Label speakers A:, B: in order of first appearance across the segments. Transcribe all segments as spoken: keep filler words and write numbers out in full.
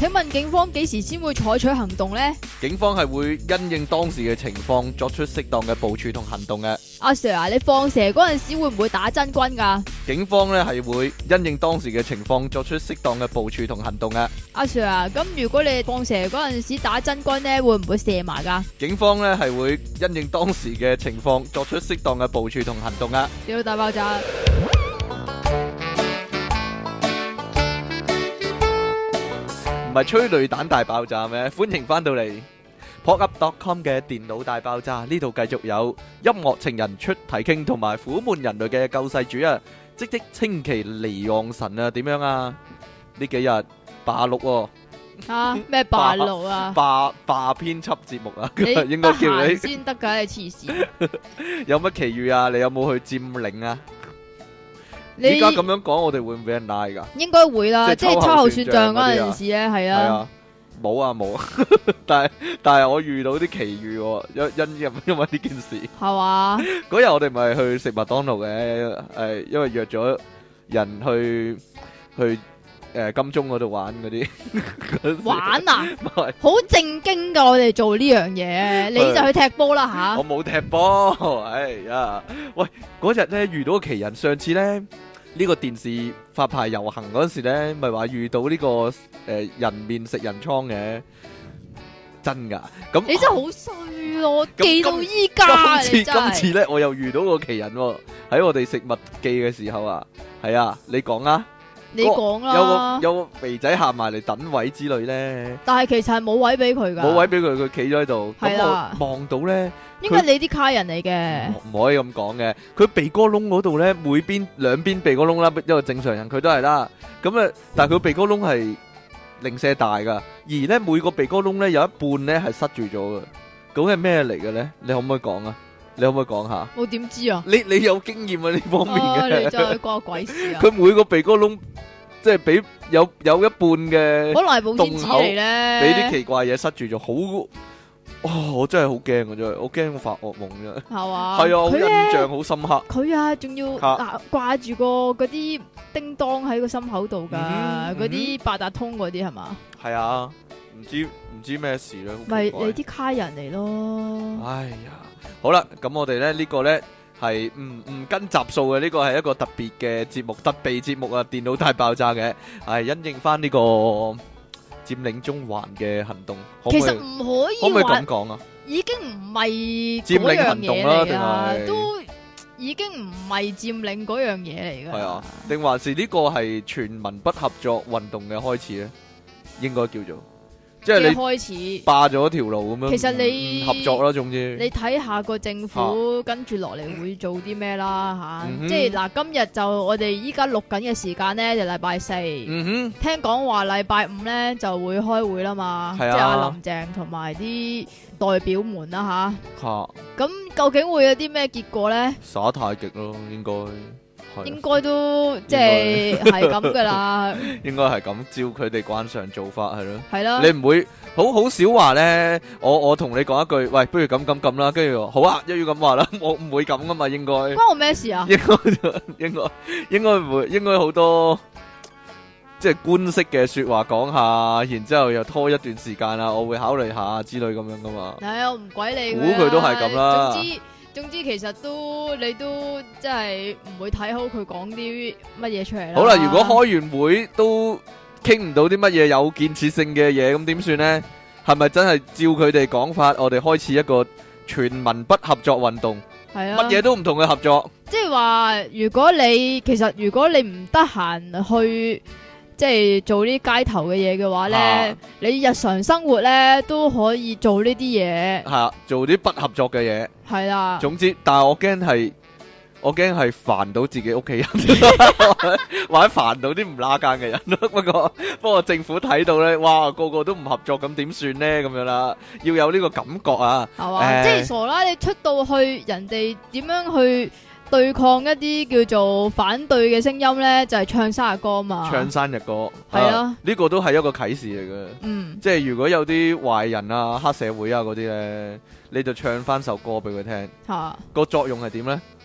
A: 請問警方幾時先會採取行動呢？
B: 警方係會因應當時嘅情況作出適當嘅部署同行動嘅。
A: 阿 Sir 啊，你放蛇嗰陣時會唔會打真軍㗎？
B: 警方咧係會因應當時嘅情況作出適當嘅部署同行動嘅。
A: 阿 Sir 啊，咁如果你放蛇嗰陣時打真軍呢，會唔會射埋㗎？
B: 警方咧係會因應當時嘅情況作出適當嘅部署同行動嘅。
A: 電腦大爆炸。
B: 唔係催淚彈大爆炸咩？歡迎翻到嚟 pop up dot com 嘅電腦大爆炸，呢度繼續有音樂情人出體傾同埋苦悶人類嘅救世主啊！即即稱其離岸神啊，點樣啊？呢幾日霸錄喎，
A: 啊咩霸路啊？
B: 霸霸編輯節目啊，
A: 你
B: 應該叫你
A: 先得㗎，你黐線！
B: 有乜奇遇啊？你有冇去佔領啊？
A: 你
B: 依家咁樣講，我哋會唔會俾人拉㗎？
A: 應該會啦，即係
B: 即係秋後
A: 秋後算賬
B: 算賬
A: 嗰陣時咧，係
B: 係
A: 啊，
B: 啊，冇啊冇啊，但係但係我遇到啲奇遇喎，因因因因為呢件事。
A: 係嘛？
B: 嗰日我哋咪去食麥當勞嘅，誒，因為約咗人去去誒金鐘嗰度玩嗰啲。
A: 玩啊！
B: 唔係
A: 好正經㗎，我哋做呢樣嘢，你就去踢波啦吓
B: 我。冇踢波，哎呀！喂，嗰日咧遇到個奇人，上次咧呢個電視發牌遊行嗰陣時咧，咪話遇到呢個誒人面食人倉嘅，真㗎。咁
A: 你真係好衰咯，
B: 咁
A: 記到依家啊！
B: 今次
A: 你真係
B: 今次咧，我又遇到個奇人喎，喺我哋食麥記嘅時候啊，係啊，你講啊，
A: 你講
B: 有
A: 啦
B: 個。有個肥仔行埋嚟等位之類咧，
A: 但係其實係冇位俾佢㗎，
B: 冇位俾佢，佢企咗喺度，咁
A: 係啦
B: 我望到咧。
A: 應該你啲卡人嚟嘅。
B: 唔可以咁講嘅，佢鼻哥窿嗰度咧，每邊兩邊鼻哥窿啦，因為正常人佢都係啦。咁啊，但係佢鼻哥窿係零舍大噶，而咧每個鼻哥窿咧有一半咧係塞住咗嘅。究竟係咩嚟嘅咧？你可唔可以講啊？你可唔可以講下？
A: 我點知啊？
B: 你你有經驗啊呢方面
A: 啊！你
B: 嘅。
A: 真係關我鬼事啊！
B: 佢每個鼻哥窿即係俾有有一半嘅
A: 可能係保鮮紙嚟咧，
B: 俾啲奇怪嘢塞住咗，好哦！我真係好驚啊！真係，我驚我發惡夢啫。
A: 係嘛？
B: 係啊，好
A: 佢
B: 印
A: 咧
B: 象好深刻。
A: 佢啊，仲要
B: 嚇
A: 掛掛住個嗰啲叮當喺個心口度㗎，
B: 嗯
A: 嗰啲八達通嗰啲係嘛？
B: 係啊，唔知唔知咩事咧，好
A: 咪
B: 奇怪
A: 你啲卡人嚟咯。
B: 哎呀，好啦，咁我哋咧呢個咧係唔唔跟集數嘅，呢個係一個特別嘅節目，特備節目啊！電腦大爆炸嘅，係因應翻呢個佔領中環嘅行動，可唔可以
A: 其實唔可
B: 可唔可以
A: 以話
B: 咁講啊？
A: 已經唔係
B: 佔領
A: 嗰樣
B: 行動
A: 嘢嚟
B: 啦定
A: 㗎，
B: 係
A: 都已經唔係佔領嗰樣嘢嚟㗎。
B: 係啊，定還是呢個係全民不合作運動嘅開始咧？應該叫做，即係
A: 嘅
B: 你
A: 開始。
B: 霸咗條路咁樣，
A: 其實你
B: 唔合作啦，總之
A: 你睇下個政府跟住落嚟會做啲咩啦吓，
B: 嗯哼
A: 即係嗱，今日就我哋依家錄緊嘅時間呢，就禮拜四，
B: 嗯哼。
A: 聽講話禮拜五呢就會開會啦嘛，即
B: 係啊
A: 係阿林鄭同埋啲代表們啦
B: 吓，
A: 吓，咁究竟會有啲咩結果呢？
B: 耍太極咯，應該係
A: 應該都即係係咁噶啦，
B: 應該係咁，照佢哋慣常做法係咯。
A: 係啦，
B: 你唔會好好少話咧，我我同你講一句，喂，不如咁咁咁啦，跟住好啊，一於咁話啦，我唔會咁噶嘛，應該
A: 關我咩事啊？
B: 應該應該應該唔會，應該好多即係官式嘅說話講下，然之後又拖一段時間啦，我會考慮下之類咁樣噶嘛。
A: 唉，我唔鬼理
B: 估佢都係咁啦
A: 總之總之，其實都你都即係唔會睇好佢講啲乜嘢出嚟啦。
B: 好啦，如果開完會都傾唔到啲乜嘢有建設性嘅嘢，咁點算呢？係咪真係照佢哋講法，我哋開始一個全民不合作運動，
A: 係啊，
B: 乜嘢都唔同嘅合作？
A: 即係話，如果你其實如果你唔得閒去即係做啲街頭嘅嘢嘅話咧，
B: 啊
A: 你日常生活咧都可以做呢啲嘢，
B: 係啊，做啲不合作嘅嘢。
A: 係啦。
B: 總之，但係我驚係，我驚係煩到自己屋企人，或者煩到啲唔拉更嘅人咯。不過不過政府睇到咧，哇，個個都唔合作，咁點算咧？咁樣啦，要有呢個感覺啊。
A: 係嘛？
B: 誒
A: 即係傻啦！你出到去，人哋點樣去對抗一啲叫做反對嘅聲音咧？就係唱生日歌嘛。
B: 唱生日歌，
A: 係啊，
B: 呢個都係一個啟示嚟嘅。
A: 嗯，
B: 即係如果有啲壞人啊、黑社會啊嗰啲咧，你就唱翻首歌俾佢聽。
A: 吓
B: 個作用係點咧？佢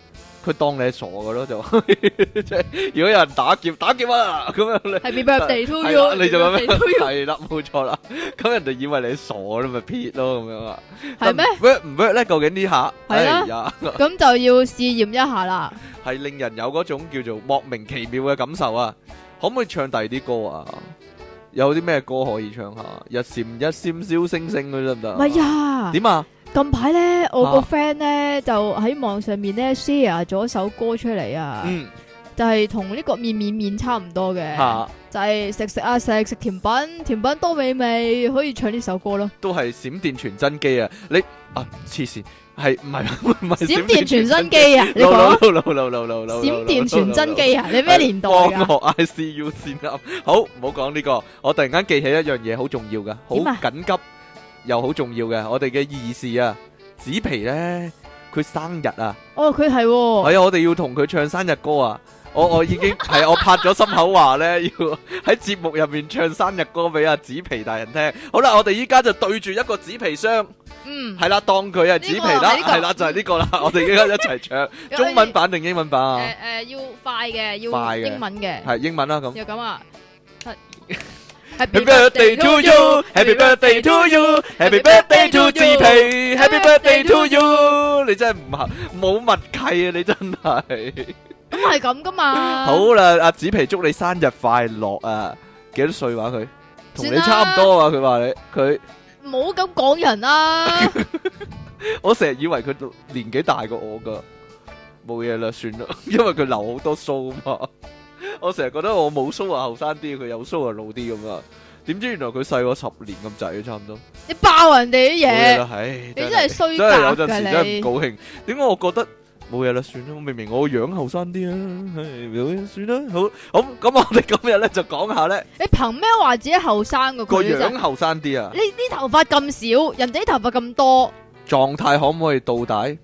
B: 佢當你係傻嘅咯，就即係如果有人打劫打劫啊咁樣，你
A: Happy birthday to
B: 係
A: you，
B: 啦你就咁
A: Happy birthday to you
B: 樣係啦，冇錯啦。咁人哋以為你傻咯，咪撇咯咁樣啊？
A: 係咩
B: ？work 唔 work 咧？究竟呢下？
A: 係啦
B: 哎呀，
A: 咁就要試驗一下啦。
B: 係令人有嗰種叫做莫名其妙嘅感受啊！可唔可以唱第二啲歌啊？有啲咩歌可以唱下？一閃一閃小星星嗰啲得唔得？
A: 唔係啊，
B: 點啊？
A: 近排咧，我個
B: 啊
A: friend 咧就喺網上面咧 share 咗首歌出嚟啊，
B: 嗯，
A: 就係同呢個面面面差唔多嘅，
B: 嚇
A: 就係食食啊食食甜品，甜品多美味，可以唱呢首歌咯。
B: 都係閃電傳真機啊！你啊黐線，係唔係唔係
A: 閃電傳真機啊，你講
B: ？no no no no no no
A: 閃電傳真機啊，你咩年代
B: 光
A: 噶？
B: 學 I C U 先啱。好，唔好講呢個。我突然間記起一樣嘢，好重要噶，好
A: 點啊
B: 緊急又好重要嘅。我哋嘅義士啊，紙皮咧，佢生日啊，
A: 哦，佢係喎，
B: 係啊，我哋要同佢唱生日歌啊！我我已經係我拍咗心口話咧，要喺節目入面唱生日歌俾阿紙皮大人聽。好啦，我哋依家就對住一個紙皮箱，
A: 嗯，
B: 係啦，當佢係紙皮啦，
A: 呢個
B: 係啦，就係呢個啦。我哋依家一齊唱中文版定英文版啊？
A: 誒誒，要快嘅，要
B: 快嘅
A: 英文嘅，
B: 係英文啦咁。
A: 要咁啊。
B: Happy birthday to you, Happy birthday to you, Happy birthday to 紙皮 ，Happy birthday to you。你真係唔合冇默契啊！你真係。
A: 咁係咁噶嘛？
B: 好啦，阿紙皮祝你生日快樂啊！幾多歲話佢？同你
A: 算啦
B: 差唔多啊！佢話你佢，
A: 唔好咁講人啦。
B: 我成日以為佢年紀大過我噶，冇嘢啦，算啦，因為佢留好多鬚嘛。我成日覺得我冇鬚啊後生啲，佢有鬚啊老啲咁啊。點知原來佢細我十年咁滯，差唔多。
A: 你爆人哋啲
B: 冇嘢
A: 嘢，
B: 啦，唉，
A: 你真係衰
B: 真係有
A: 格㗎
B: 陣時真係唔
A: 你。
B: 高興。點解我覺得冇嘢啦？算啦，明明我樣後生啲啊，唉，冇嘢算啦。好，好咁，我哋今日咧就講下咧
A: 你憑咩話自己後生噶？
B: 個
A: 佢真係
B: 樣後生啲啊，
A: 你啲頭髮咁少，人哋啲頭髮咁多，
B: 狀態可唔可以倒帶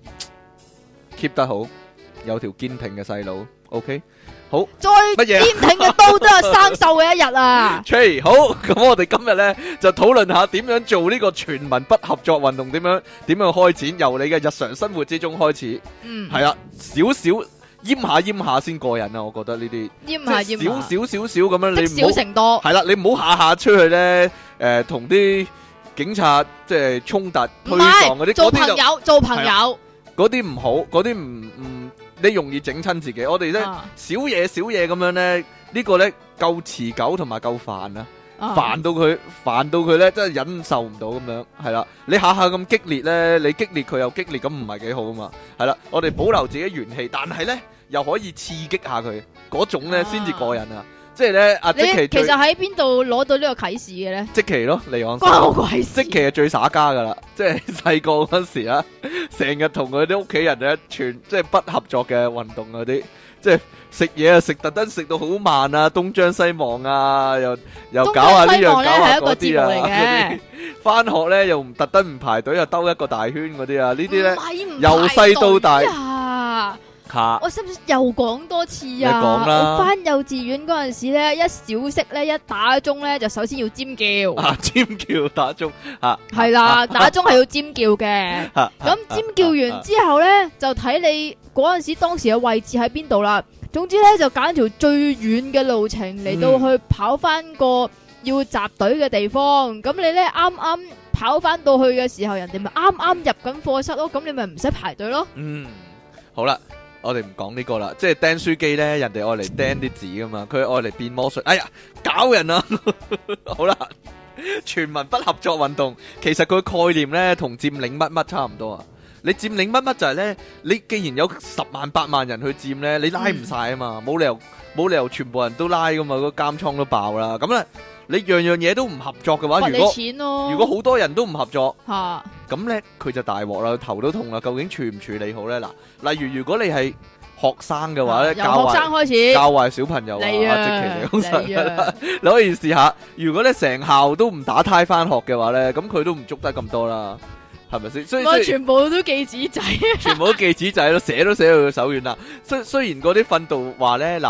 B: keep 得好，有條堅挺嘅細佬 ，OK。好
A: 再
B: 乜嘢啊
A: 堅挺嘅刀都係生鏽嘅一日啊！
B: 吹好，咁我哋今日咧就討論下點樣做呢個全民不合作運動，點樣點樣開展，由你嘅日常生活之中開始，
A: 嗯，
B: 係啦，少少閹下閹下先過癮啊！我覺得呢啲
A: 閹下
B: 即係
A: 閹下，
B: 少少少少咁樣，
A: 積少
B: 你唔好
A: 成多，
B: 係啦，你唔好下下出去咧，誒同啲警察即係衝突推
A: 唔係
B: 撞嗰啲，
A: 做
B: 嗰啲就
A: 朋友做朋友，
B: 嗰啲唔好，嗰啲唔唔你容易整親自己。我哋咧
A: 啊
B: 少嘢少嘢咁樣咧，呢個咧夠持久同埋夠煩啊！
A: 啊
B: 煩到佢，煩到佢咧，真係忍受唔到咁樣，係啦。你下下咁激烈咧，你激烈佢又激烈，咁唔係幾好啊嘛。係啦，我哋保留自己元氣，但係咧又可以刺激下佢，嗰種咧
A: 啊
B: 先至過癮啊！即係咧，阿
A: 你
B: 積淇最
A: 其實喺邊度攞到呢個啟示嘅咧？
B: 積淇咯，離岸
A: 關我
B: 神
A: 鬼事！
B: 積淇係最耍家噶啦，即係細個嗰時啊，成日同佢啲屋企人咧，全即係不合作嘅運動嗰啲，即係食嘢啊，食特登食到好慢啊，東張西望啊，又又搞下呢樣搞下嗰啲啊，嗰啲翻學咧又唔特登唔排隊，又兜一個大圈嗰啲啊，呢啲咧由細到大
A: 啊！
B: 嚇
A: 我使唔使又講多次啊？
B: 你講啦
A: 我翻幼稚園嗰陣時咧，一小息咧，一打鐘咧，就首先要尖叫。
B: 啊尖叫打鐘嚇，
A: 係啦，打鐘係要尖叫嘅。
B: 咁
A: 咁尖叫完之後咧，就睇你嗰陣時當時嘅位置喺邊度啦。總之咧，就揀條最遠嘅路程嚟到去跑翻個要集隊嘅地方。咁你咧啱啱跑翻到去嘅時候，人哋咪啱啱入緊課室咯。咁你咪唔使排隊咯。
B: 嗯，好啦。我哋唔講呢個啦，即係釘書機咧，人哋愛嚟釘啲紙噶嘛，佢愛嚟變魔術。哎呀，搞人啊！好啦，全民不合作運動，其實佢概念咧同佔領乜乜差唔多啊。你佔領乜乜就係咧，你既然有十萬八萬人去佔咧，你拉唔晒啊嘛，冇、嗯、理由冇理由全部人都拉噶嘛，個監倉都爆啦。咁咧，你樣樣嘢都唔合作嘅話，
A: 罰
B: 如果
A: 你錢咯
B: 如果好多人都唔合作，
A: 嚇。
B: 咁咧佢就大鑊啦，頭都痛啦。究竟處唔處理好咧？嗱，例如如果你係學生嘅話咧，
A: 由
B: 教壞
A: 學生開始
B: 教壞小朋友啊，
A: 你啊
B: 即其嚟好實
A: 你啊
B: 你可以試下。如果咧成校都唔打呔翻學嘅話咧，咁佢都唔捉得咁多啦，係咪先？所以
A: 我
B: 所以
A: 全部都記紙仔。
B: 全部都記紙仔咯，寫都寫到佢手軟啦。雖雖然嗰啲訓導話咧，嗱，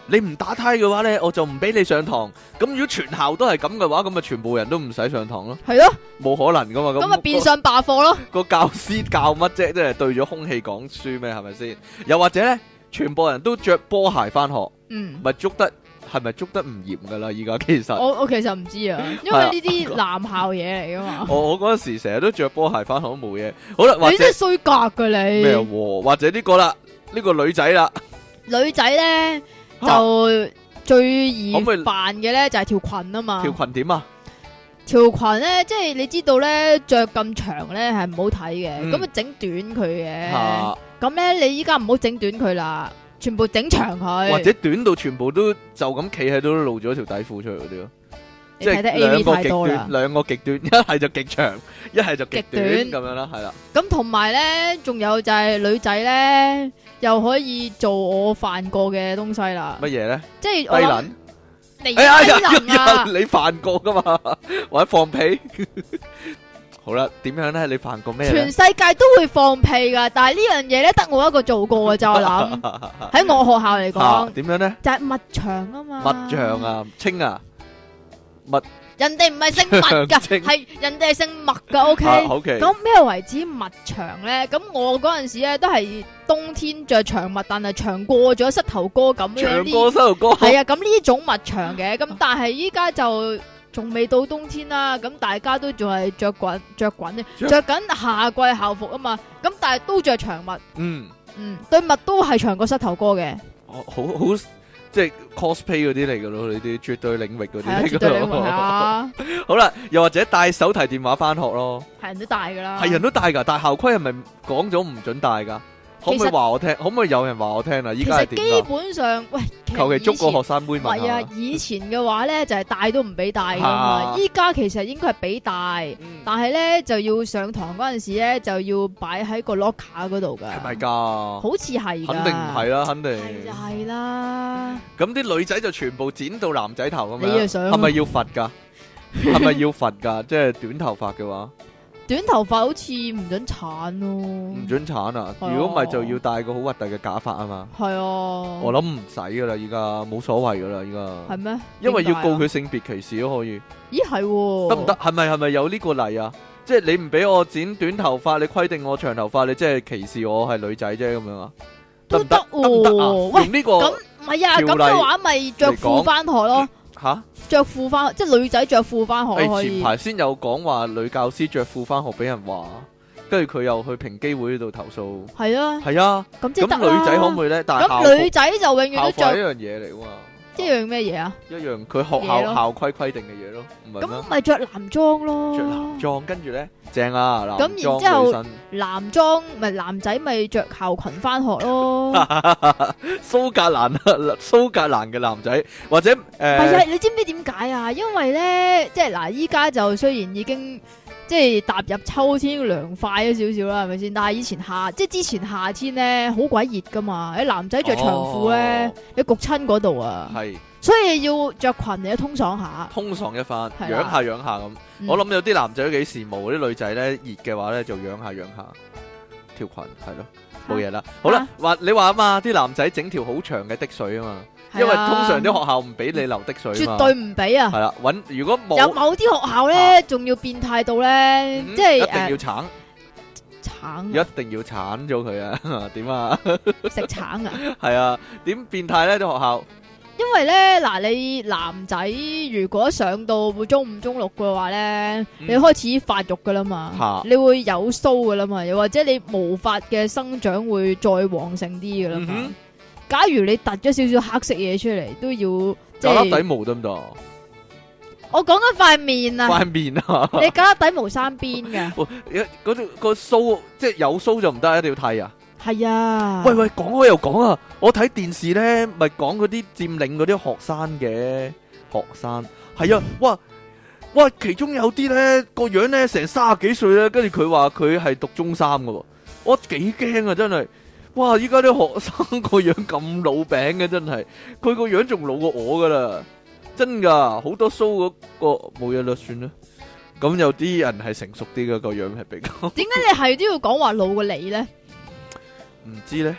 B: 你唔打呔嘅話咧，我就唔俾你上堂。咁如果全校都係咁嘅話，咁咪全部人都唔使上堂咯。
A: 係咯，
B: 冇可能噶嘛。
A: 咁咪變相罷課咯。
B: 個教師教乜啫？即係對咗空氣講書咩？係咪先？又或者咧，全部人都着波鞋翻學，
A: 嗯，
B: 咪捉得係咪捉得唔嚴噶啦？依家其實
A: 我我其實唔知啊，因為呢啲男校嘢嚟噶嘛。
B: 我我嗰陣時成日都着波鞋翻學都冇嘢。好啦，或者
A: 你真係衰格噶你。
B: 咩喎？或者呢個啦，呢個女仔啦，
A: 女仔咧
B: 啊
A: 就最易
B: 可唔可以
A: 扮嘅咧就係條裙啊嘛。
B: 條裙點啊？
A: 條裙咧，即係你知道咧，着咁長咧係唔好睇嘅，
B: 嗯
A: 咁啊整短佢嘅。
B: 嚇
A: 咁咧，你依家唔好整短佢啦，全部整長佢。
B: 或者短到全部都就咁企喺度都露咗條底褲出嚟嗰啲咯。
A: 你睇得 A
B: 兩
A: V
B: 個
A: 太多啦
B: 極端，。兩個極端，一係就極長，一係就極短
A: 極
B: 咁樣啦，係啦。
A: 咁同埋咧，仲有就係女仔咧，又可以做我犯過嘅東西啦。
B: 乜嘢咧？
A: 即係我諗
B: 低能？
A: 你
B: 哎呀，
A: 低能啊！
B: 你犯過噶嘛？或者放屁？好啦，點樣咧？你犯過咩咧
A: 全？世界都會放屁噶，但係呢樣嘢咧得我一個做過嘅，就我諗喺我學校嚟
B: 啊
A: 講，
B: 點樣咧？
A: 就係蜜腸啊嘛。
B: 蜜醬啊，清啊，蜜
A: 人哋唔係姓麥噶，
B: 長青
A: 係人哋係姓麥噶。O K，
B: 啊，OK。
A: 咁咩為之蜜長咧？咁我嗰陣時咧都係冬天着長襪，但係長過咗膝頭哥咁樣
B: 長
A: 呢。
B: 過膝頭哥。
A: 係啊，咁呢種蜜長嘅，咁但係依家就仲未到冬天啦，咁大家都仲係着滾着滾咧，
B: 着
A: 着緊夏季校服啊嘛，咁但係都着長襪，
B: 嗯，
A: 嗯，對襪都係長過膝頭哥嘅，
B: 好好好，即係 cosplay 嗰啲嚟噶咯，呢啲絕對領域嗰啲
A: 係啊，
B: 嚟
A: 絕對領域係
B: 噶咯。
A: 啊，
B: 好啦，又或者帶手提電話翻學咯，
A: 係人都戴噶啦，
B: 係人都帶噶，但係校規係咪講咗唔准帶噶？可唔可以話我聽？可唔可以有人話我聽啊？依
A: 其實基
B: 家係點㗎？
A: 本上，喂，
B: 求其捉個學生妹
A: 唔係啊
B: 問，下。
A: 以前嘅話咧就係戴都唔俾戴噶嘛，
B: 啊
A: 依家其實應該係俾戴。
B: 嗯
A: 但係咧就要上堂嗰陣時咧就要擺喺個 locker 嗰度噶，
B: 係咪㗎？
A: 好似係㗎，
B: 肯定唔係啦，肯定。
A: 係就係啦。
B: 咁啲女仔就全部剪到男仔頭咁樣，
A: 你又想啊
B: 係咪要罰㗎？係咪要罰㗎？即係短頭髮嘅話，
A: 短頭髮好似唔准鏟咯，
B: 唔准鏟啊！
A: 係啊
B: 如果唔係就要戴個好核突嘅假髮啊嘛。
A: 係啊，
B: 我諗唔使㗎啦，依家冇所謂㗎啦，依家。
A: 係咩？
B: 因為要告
A: 點解啊
B: 佢性別歧視都可以，
A: 咦係喎，
B: 得唔得？？係咪係咪有呢個例啊？即係你唔俾我剪短頭髮，你規定我長頭髮，你即係歧視我係女仔啫咁樣啊？得
A: 都
B: 唔得？
A: 得
B: 得唔得啊？
A: 喎。喂，
B: 用呢個
A: 咁唔係啊，
B: 條例
A: 咁嘅話咪着
B: 嚟講
A: 褲翻學咯，
B: 吓？
A: 着褲翻，即係女仔着褲翻學
B: 誒前
A: 咯可以。
B: 排先有講話女教師着褲翻學俾人話，跟住佢又去平機會度投訴。
A: 係啊，
B: 係啊，
A: 咁即係得
B: 咁女仔可唔可以咧？但係校
A: 咁女
B: 服
A: 仔就永遠都着
B: 校服係一樣嘢嚟噶嘛，
A: 一樣咩嘢啊？
B: 一樣佢學
A: 嘢咯
B: 校校規規定嘅嘢咯，唔係咩
A: 咁？咪着男裝咯，
B: 着男裝，跟住咧正啊，男
A: 咁
B: 裝
A: 然之後
B: 女生。
A: 男裝咪男仔咪着校裙翻學咯。
B: 蘇格蘭蘇格蘭嘅男仔，或者誒，
A: 係啊，你知唔知點解啊？因為咧，即係嗱，依家就雖然已經即係踏入秋天涼快咗少少啦，係咪先？但係以前夏，即係之前夏天咧，好鬼熱噶嘛，啲男仔着長褲咧
B: 哦，
A: 你焗親嗰度啊，
B: 係
A: 所以要着裙嚟通爽下。
B: 通爽一番，
A: 係啊
B: 養下養下咁。
A: 嗯
B: 我諗有啲男仔都幾羨慕啲女仔咧，熱嘅話咧就養下養下條裙，係咯，冇嘢啦。好啦，話你話啊嘛，啲男仔整條好長嘅滴水啊嘛，因為
A: 係啊
B: 通常啲學校唔俾你留滴水啊嘛。
A: 絕對唔俾啊！
B: 係啦，揾如果冇
A: 有某啲學校咧，仲要變態到咧，
B: 嗯
A: 即係
B: 一定要
A: 誒
B: 橙，
A: 橙
B: 一定要鏟咗佢啊！點啊？
A: 食橙啊！
B: 係啊，點變態咧？啲學校
A: 因為咧，嗱，你男仔如果上到中五、中六嘅話咧，
B: 嗯
A: 你開始發育噶啦嘛，
B: 嚇
A: 你會有鬚噶啦嘛，又或者你毛髮嘅生長會再旺盛啲噶啦嘛。
B: 嗯哼
A: 假如你突咗少少黑色嘢出嚟，都要即
B: 有粒底
A: 係
B: 毛得唔得？
A: 我講緊塊面啊，
B: 塊面啊！
A: 你搞粒底毛三邊嘅，
B: 哇一嗰條個須即係有須就唔得，一定要剃啊！
A: 係啊。
B: 喂喂，講開又講啊！我睇電視咧，咪講嗰啲佔領嗰啲學生嘅學生，係啊，哇哇，其中有啲咧個樣咧成三十幾歲咧，跟住佢話佢係讀中三噶喎，我幾驚啊！真係，哇！依家啲學生個樣咁老餅嘅，真係，佢個樣仲老過我噶啦，真噶，好多須嗰個冇嘢啦，算啦。咁有啲人係成熟啲嘅個樣係比較，
A: 點解你係都要講話老過你咧？
B: 唔知咧。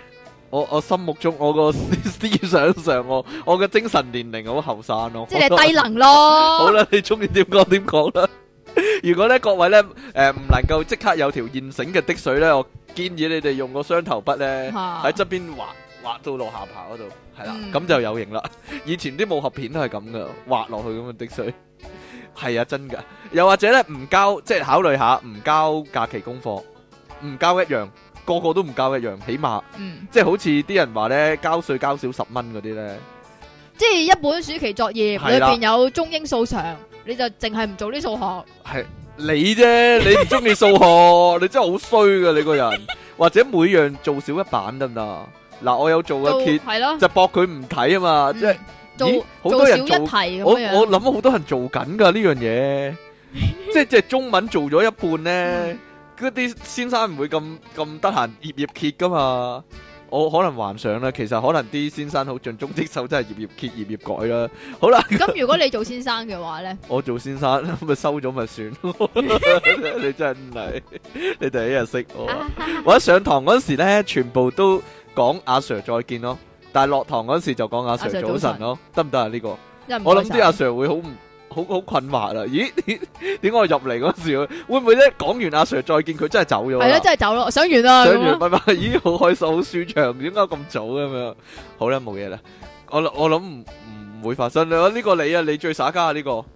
B: 我我心目中我個思想上我我嘅精神年齡好後生咯，
A: 即係你係低能咯。
B: 好啦，你中意點講點講啦。如果咧各位咧誒唔能夠即刻有條現成嘅滴水咧，我建議你哋用個雙頭筆咧喺側邊畫畫到落下巴嗰度，係啦，咁就有型啦。以前啲武俠片都係咁噶，畫落去咁嘅滴水，係啊真噶。又或者咧唔交，即係考慮下唔交假期功課，唔交一樣。個個都唔交一樣，起碼，
A: 嗯、
B: 即係好似啲人話咧，交稅交少十蚊嗰啲咧，
A: 即係一本暑期作業裏邊有中英數常，你就淨係唔做啲數學。
B: 係你啫，你唔中意數學，你真係好衰噶你個人。或者每樣做少一版得唔得？嗱，我有做嘅揭，就駁佢唔睇啊嘛，嗯、即係
A: 做
B: 好多人做，
A: 做少一題咁樣。
B: 我我諗好多人做緊噶呢樣嘢，即係即係中文做咗一半咧。嗯嗰啲先生唔會咁咁得閒頁頁揭噶嘛，我可能幻想啦，其實可能啲先生好盡忠職守，真係頁頁揭頁頁改啦。好啦，
A: 咁如果你做先生嘅話咧，
B: 我做先生咪收咗咪算咯。你真係，你第一日識我。我一上堂嗰時咧，全部都講阿 Sir 再見咯，但係落堂嗰時就講阿 Sir 早晨咯，得唔得啊？呢個我諗啲阿 Sir 會好唔〜好好困惑啦！咦？點解我入嚟嗰時會唔會咧講完阿 Sir 再見佢真係走咗？
A: 係咯，真係走咯！上完啦，
B: 上完拜拜。咦，好開心，好舒暢，點解咁早咁樣？好啦，冇嘢啦。我我諗唔唔會發生啦。呢個你啊，你最耍家啊呢個。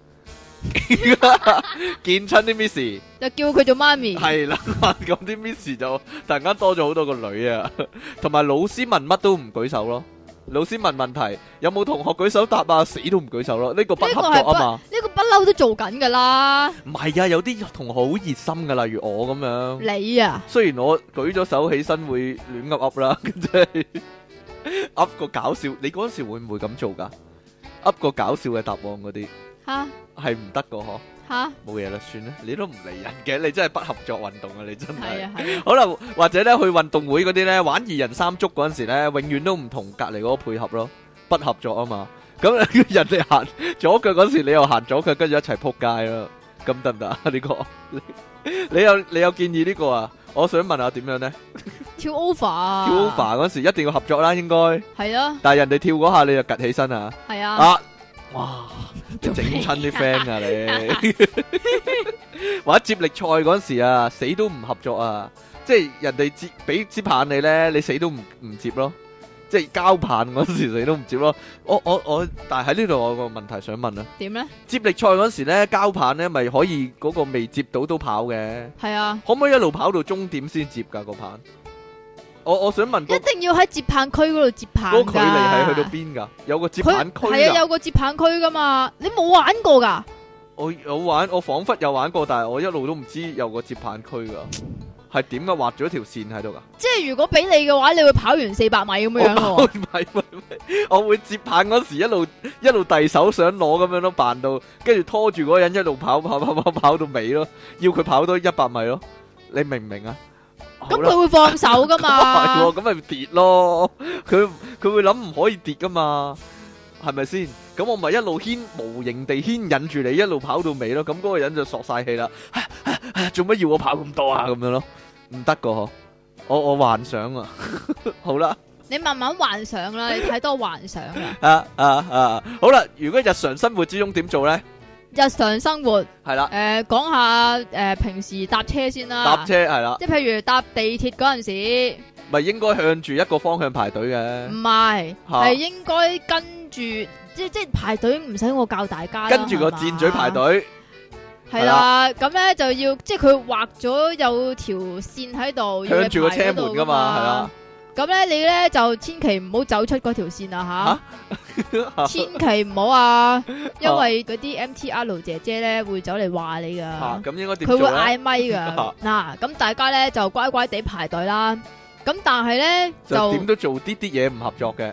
B: 見親啲 Miss
A: 就叫佢做媽咪。
B: 係啦，咁啲 Miss 就突然間多咗好多個女啊，同埋老師問乜都唔舉手咯。老師問問題，有冇同學舉手答啊？死都唔舉手咯，呢個不合作啊嘛。
A: 呢個不嬲都做緊噶啦。
B: 唔係啊，有啲同學好熱心噶，例如我咁樣。
A: 你啊，
B: 雖然我舉咗手起身會亂噏噏啦，即係噏個搞笑。你嗰時會唔會咁做噶？噏個搞笑嘅答案嗰啲，吓係唔得噶嗬。吓冇嘢啦，算啦，你都唔理人嘅，你真係不合作運動啊！你真係。係啊係啊。好啦，或者咧去運動會嗰啲咧玩二人三足嗰陣時咧，永遠都唔同隔籬嗰個配合咯，不合作啊嘛。咁人哋行左腳嗰時，你又行左腳，跟住一齊扑街咯。咁得唔得啊？呢個你有你有建議呢個啊？我想問下點樣咧？
A: 跳 over 啊！
B: 跳 over 嗰時一定要合作啦，應該係
A: 啊。
B: 但係人哋跳嗰下你就趌起身啊？係啊。啊！哇！整親啲 friend 啊你，或者接力賽嗰時啊，死都唔合作啊！即係人哋接俾支棒你咧，你死都唔唔接咯。即係交棒嗰時死都唔接咯。我我我，但係喺呢度我有個問題想問啊。點咧？接力賽嗰時咧，交棒咧咪可以嗰個未接到都跑嘅？係啊。可唔可以一路跑到終點先接噶個棒？我我想問，
A: 一定要喺接棒區嗰度接棒噶。嗰個距離係去到邊噶？有個接棒區。係啊，有個接棒區噶嘛。你冇玩過噶？
B: 我有玩，我仿佛有玩過，但係我一路都唔知有個接棒區噶。係點噶？畫咗條線喺度噶。即係如果俾你嘅話，你會跑完四百米咁樣咯。唔係唔係，我會接棒嗰時一路一路遞手想攞咁樣咯，扮到跟住拖住嗰個人一路跑跑跑跑跑到尾咯，要佢跑多一百米咯。你明唔明啊？咁佢會放手噶嘛？係，咁咪跌咯。佢佢會諗唔可以跌噶嘛？係咪先？咁我咪一路牽無形地牽引住你一路跑到尾咯。咁嗰個人就索晒氣啦。做乜要我跑咁多啊？咁樣咯，唔得噶嗬。我我幻想啊。好啦，你慢慢幻想啦。你太多幻想啦。啊啊啊！好啦，如果日常生活之中點做咧？日常生活係啦，誒講下誒平時搭車先啦。搭車係啦，即係譬如搭地鐵嗰陣時，咪應該向住一個方向排隊嘅。唔係，係應該跟住，即即係排隊唔使我教大家。跟住個箭嘴排隊。係啦，咁咧就要，即係佢畫咗有條線喺度，向住個車門噶嘛，係啦。咁咧你咧就千祈唔好走出嗰條線啊吓，千祈唔好啊，因為嗰啲 M T R 姐姐咧會走嚟話你噶，咁應該點做咧？佢會嗌咪噶。嗱，咁大家咧就乖乖地排隊啦。咁但係咧就點都做啲啲嘢唔合作嘅。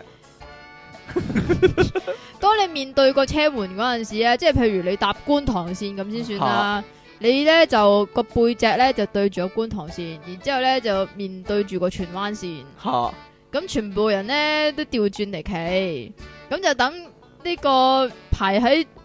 B: 當你面對個車門嗰陣時咧，即係譬如你搭觀塘線咁先算啦。你咧就個背脊咧就對住個觀塘線，然之後咧就面對住個荃灣線。吓，咁全部人咧都調轉嚟企，咁就等呢個排喺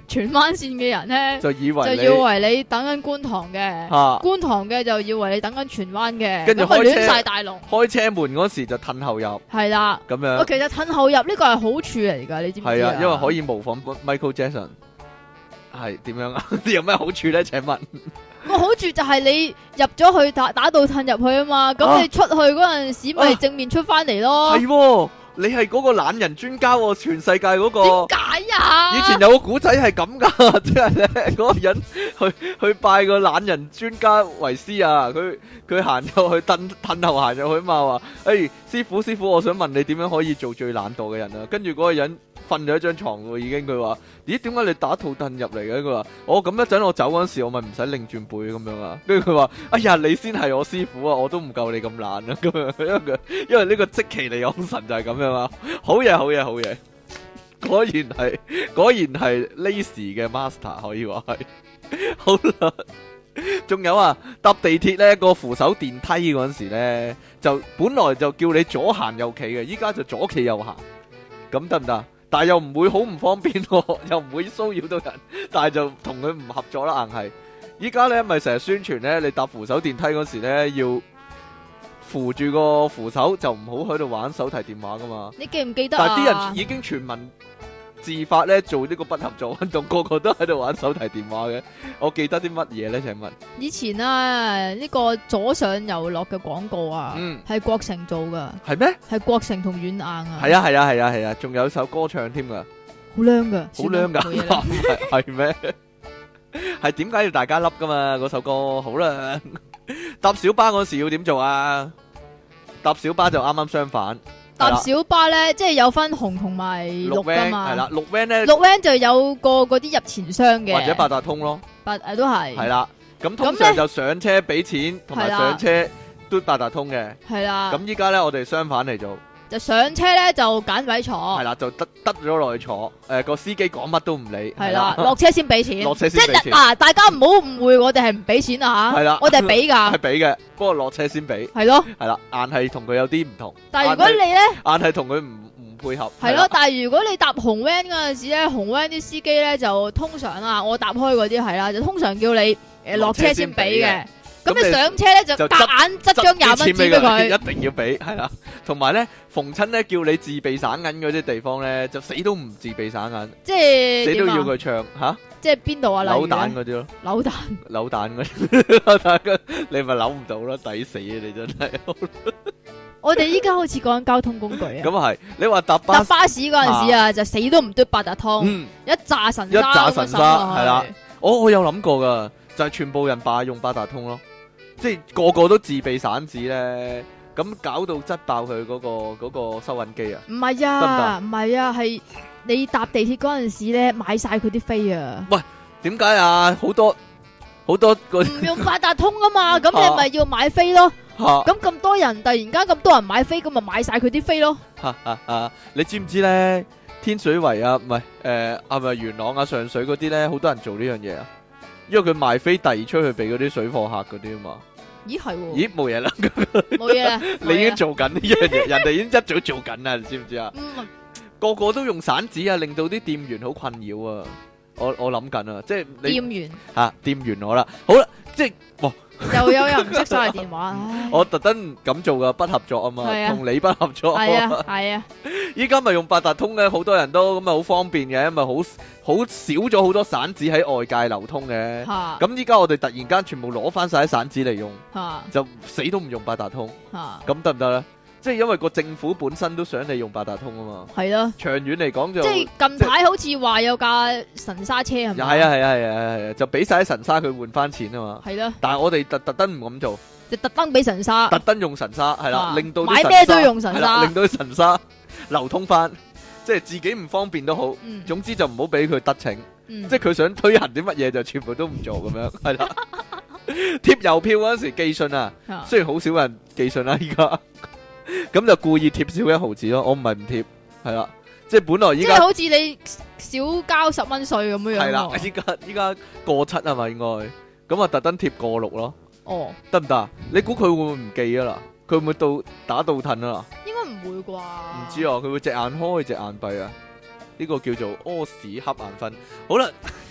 A: 荃灣線嘅人咧，
B: 就以為你
A: 就以為你等緊觀塘嘅，
B: 啊
A: 觀塘嘅就以為你等緊荃灣嘅，
B: 跟住
A: 咁啊
B: 開車
A: 亂晒大龍。
B: 開車門嗰時就褪後入
A: 係啦，
B: 咁
A: 我
B: 樣，
A: 其實褪後入呢個係好處嚟㗎，你知唔知
B: 係啊，因為可
A: 以
B: 以模仿 Michael Jackson。係點樣啊？有咩好處咧？請問
A: 個好處就係你入咗去打打到褪入去啊嘛，咁、
B: 啊
A: 你出去嗰陣時咪正面出翻嚟咯。
B: 係喎，你係嗰個懶人專家喎，全世界嗰個。
A: 點解啊？
B: 以前有個古仔係咁噶，即係咧嗰個人去去拜個懶人專家為師啊，佢佢行入去褪褪後行入去嘛，話誒師傅師傅，我想問你點樣可以做最懶惰嘅人啊？跟住嗰個人瞓咗一張床喎，已經佢話咦點解你打套褪入嚟嘅？佢話我咁一陣我走嗰陣時，我咪唔使擰轉背咁樣啊。跟住佢話哎呀你先係我師傅啊，我都唔夠你咁懶啊咁樣，因為佢因為呢個積淇離岸神就係咁樣啊，好嘢好嘢好嘢。果然係，果然係 Lazy 嘅 master 可以話係。好啦，仲有啊，搭地鐵咧個扶手電梯嗰陣時咧，就本來就叫你左行右企嘅，依家就左企右行，咁得唔得？但係又唔會好唔方便喎，又唔會騷擾到人，但係就同佢唔合作啦，硬係。依家咧咪成日宣傳咧，你搭扶手電梯嗰時咧要扶住個扶手，就唔好喺度玩手提電話噶嘛。
A: 你記唔記得啊？
B: 但係啲人已經全民自發咧做呢個不合作運動，個個都喺度玩手提電話嘅。我記得啲乜嘢咧？請問
A: 以前啊，呢、個左上右落嘅廣告啊，
B: 嗯
A: 係國城做噶，
B: 係咩？
A: 係國城同軟硬啊，
B: 係啊係啊係啊係啊，仲有首歌唱添噶，
A: 好靚噶，
B: 好靚噶，
A: 算啦冇嘢啦
B: 係係咩？係點解要大家笠噶嘛？嗰首歌好啦，搭小巴嗰時要點做啊？搭小巴就啱啱相反。
A: 搭小巴咧，即係有分紅同埋綠噶
B: van
A: 嘛。
B: 係啦，綠 van 咧
A: 綠 van 就有個嗰啲入錢箱嘅，
B: 或者八達通咯，
A: 八誒都係。
B: 係啦。咁通
A: 咁呢
B: 常就上車俾錢，同埋
A: 係啦
B: 上車嘟八達通嘅。
A: 係啦。
B: 咁依家咧，我哋相反嚟做，
A: 就上車咧就揀位坐，
B: 係啦，就得得咗落去坐。誒個司機講乜都唔理，
A: 係啦，落車先俾錢，
B: 落車
A: 即
B: 先俾錢
A: 係嗱，大家唔好誤會，我哋係唔俾錢啊吓，
B: 係啦
A: 我哋係俾
B: 係
A: 噶，
B: 俾嘅，不過落車先俾，
A: 係咯。
B: 係啦，硬係同佢有啲唔同，
A: 但係如果你咧
B: 硬係同佢唔唔配合，
A: 係咯，但係如果你搭紅 van 嗰陣時咧，紅 van 啲司機咧就通常啊，我搭開嗰啲係啦，就通常叫你誒落車先俾嘅。咁你上車咧就
B: 就
A: 夾硬執張廿蚊紙俾佢，
B: 一定要俾，係啦。同埋咧，逢親咧叫你自備散銀嗰啲地方咧，就死都唔自備散銀，
A: 即係
B: 死都
A: 點啊
B: 要佢唱吓
A: 即係邊度啊？例如
B: 扭蛋
A: 咧
B: 嗰啲咯，
A: 扭蛋
B: 扭蛋嗰啲，扭蛋嗰你咪扭唔到咯，抵死啊！你真係。
A: 我哋依家好似講緊交通工具啊。
B: 咁啊係，你話搭巴
A: 搭巴士嗰陣時啊，就死都唔嘟八達通，
B: 嗯，
A: 一炸神
B: 一炸神沙係啦。
A: 係
B: 我我有諗過噶，就係全部人霸用八達通咯，即係個個都自備散紙咧，咁搞到擠爆佢嗰個嗰個收銀機啊！
A: 唔係啊，唔係啊，係你搭地鐵嗰陣時咧買晒佢啲飛啊，
B: 點解啊？好多好多個
A: 唔用八達通啊嘛，咁你咪要買飛咯。
B: 吓
A: 咁咁多人突然間咁多人買飛，咁咪買晒佢啲飛咯。
B: 吓吓吓！你知唔知咧？天水圍啊，唔係誒，係咪元朗啊、上水嗰啲咧，好多人做呢樣嘢啊，因為佢賣飛遞出去俾嗰啲水貨客嗰啲啊嘛。
A: 咦係喎，
B: 咦冇嘢啦，
A: 冇嘢啦，
B: 你已經做緊呢樣嘢，人哋已經一早做緊啦，你知唔知啊？
A: 嗯
B: 個個都用散紙啊，令到啲店員好困擾啊！我我諗緊啊，即係你
A: 店員
B: 吓店員我啦，好啦，即係哇，
A: 又有人唔識晒電話，唉
B: 我特登咁做噶，不合作啊嘛，
A: 係啊
B: 同你不合作。
A: 係啊係啊，
B: 依家咪用八達通嘅，好多人都咁咪好方便嘅，咪好好少咗好多散紙喺外界流通嘅。
A: 吓
B: 咁依家我哋突然間全部攞翻晒啲散紙嚟用，
A: 吓
B: 就死都唔用八達通，
A: 吓，
B: 咁得唔得咧？即係因為個政府本身都想你用八達通啊嘛，
A: 係咯。
B: 長遠嚟講就
A: 即係近排好似話有架神沙車係咪？
B: 係啊係啊係啊係啊，就俾晒啲神沙佢換翻錢啊嘛。
A: 係咯，
B: 但係我哋特特登唔咁做，
A: 就特登俾神沙，
B: 特登用神沙係啦，
A: 啊
B: 令到啲
A: 買
B: 神沙
A: 咩都用神
B: 係啦
A: 沙
B: 令到啲神沙流通翻，即係自己唔方便都好，
A: 嗯
B: 總之就唔好俾佢得逞，
A: 嗯
B: 即係佢想推行啲乜嘢就全部都唔做咁樣，係啦。貼郵票嗰陣時寄信啊，
A: 啊
B: 雖然好少人寄信啦，依家咁就故意貼少一毫子咯，我唔係唔貼，係啦，即係本來依家
A: 即係好似你少交十蚊税咁樣樣
B: 係啦，
A: 喎。
B: 依家依家過七啊嘛應該，咁啊特登貼過六咯。
A: 哦，
B: 得唔得啊？你估佢會唔會唔記啊啦？佢會唔會到打倒褪啊啦？
A: 應該唔會啩？
B: 唔知啊，佢會隻眼開隻眼閉啊？呢個叫做屙屎瞌眼瞓。好啦，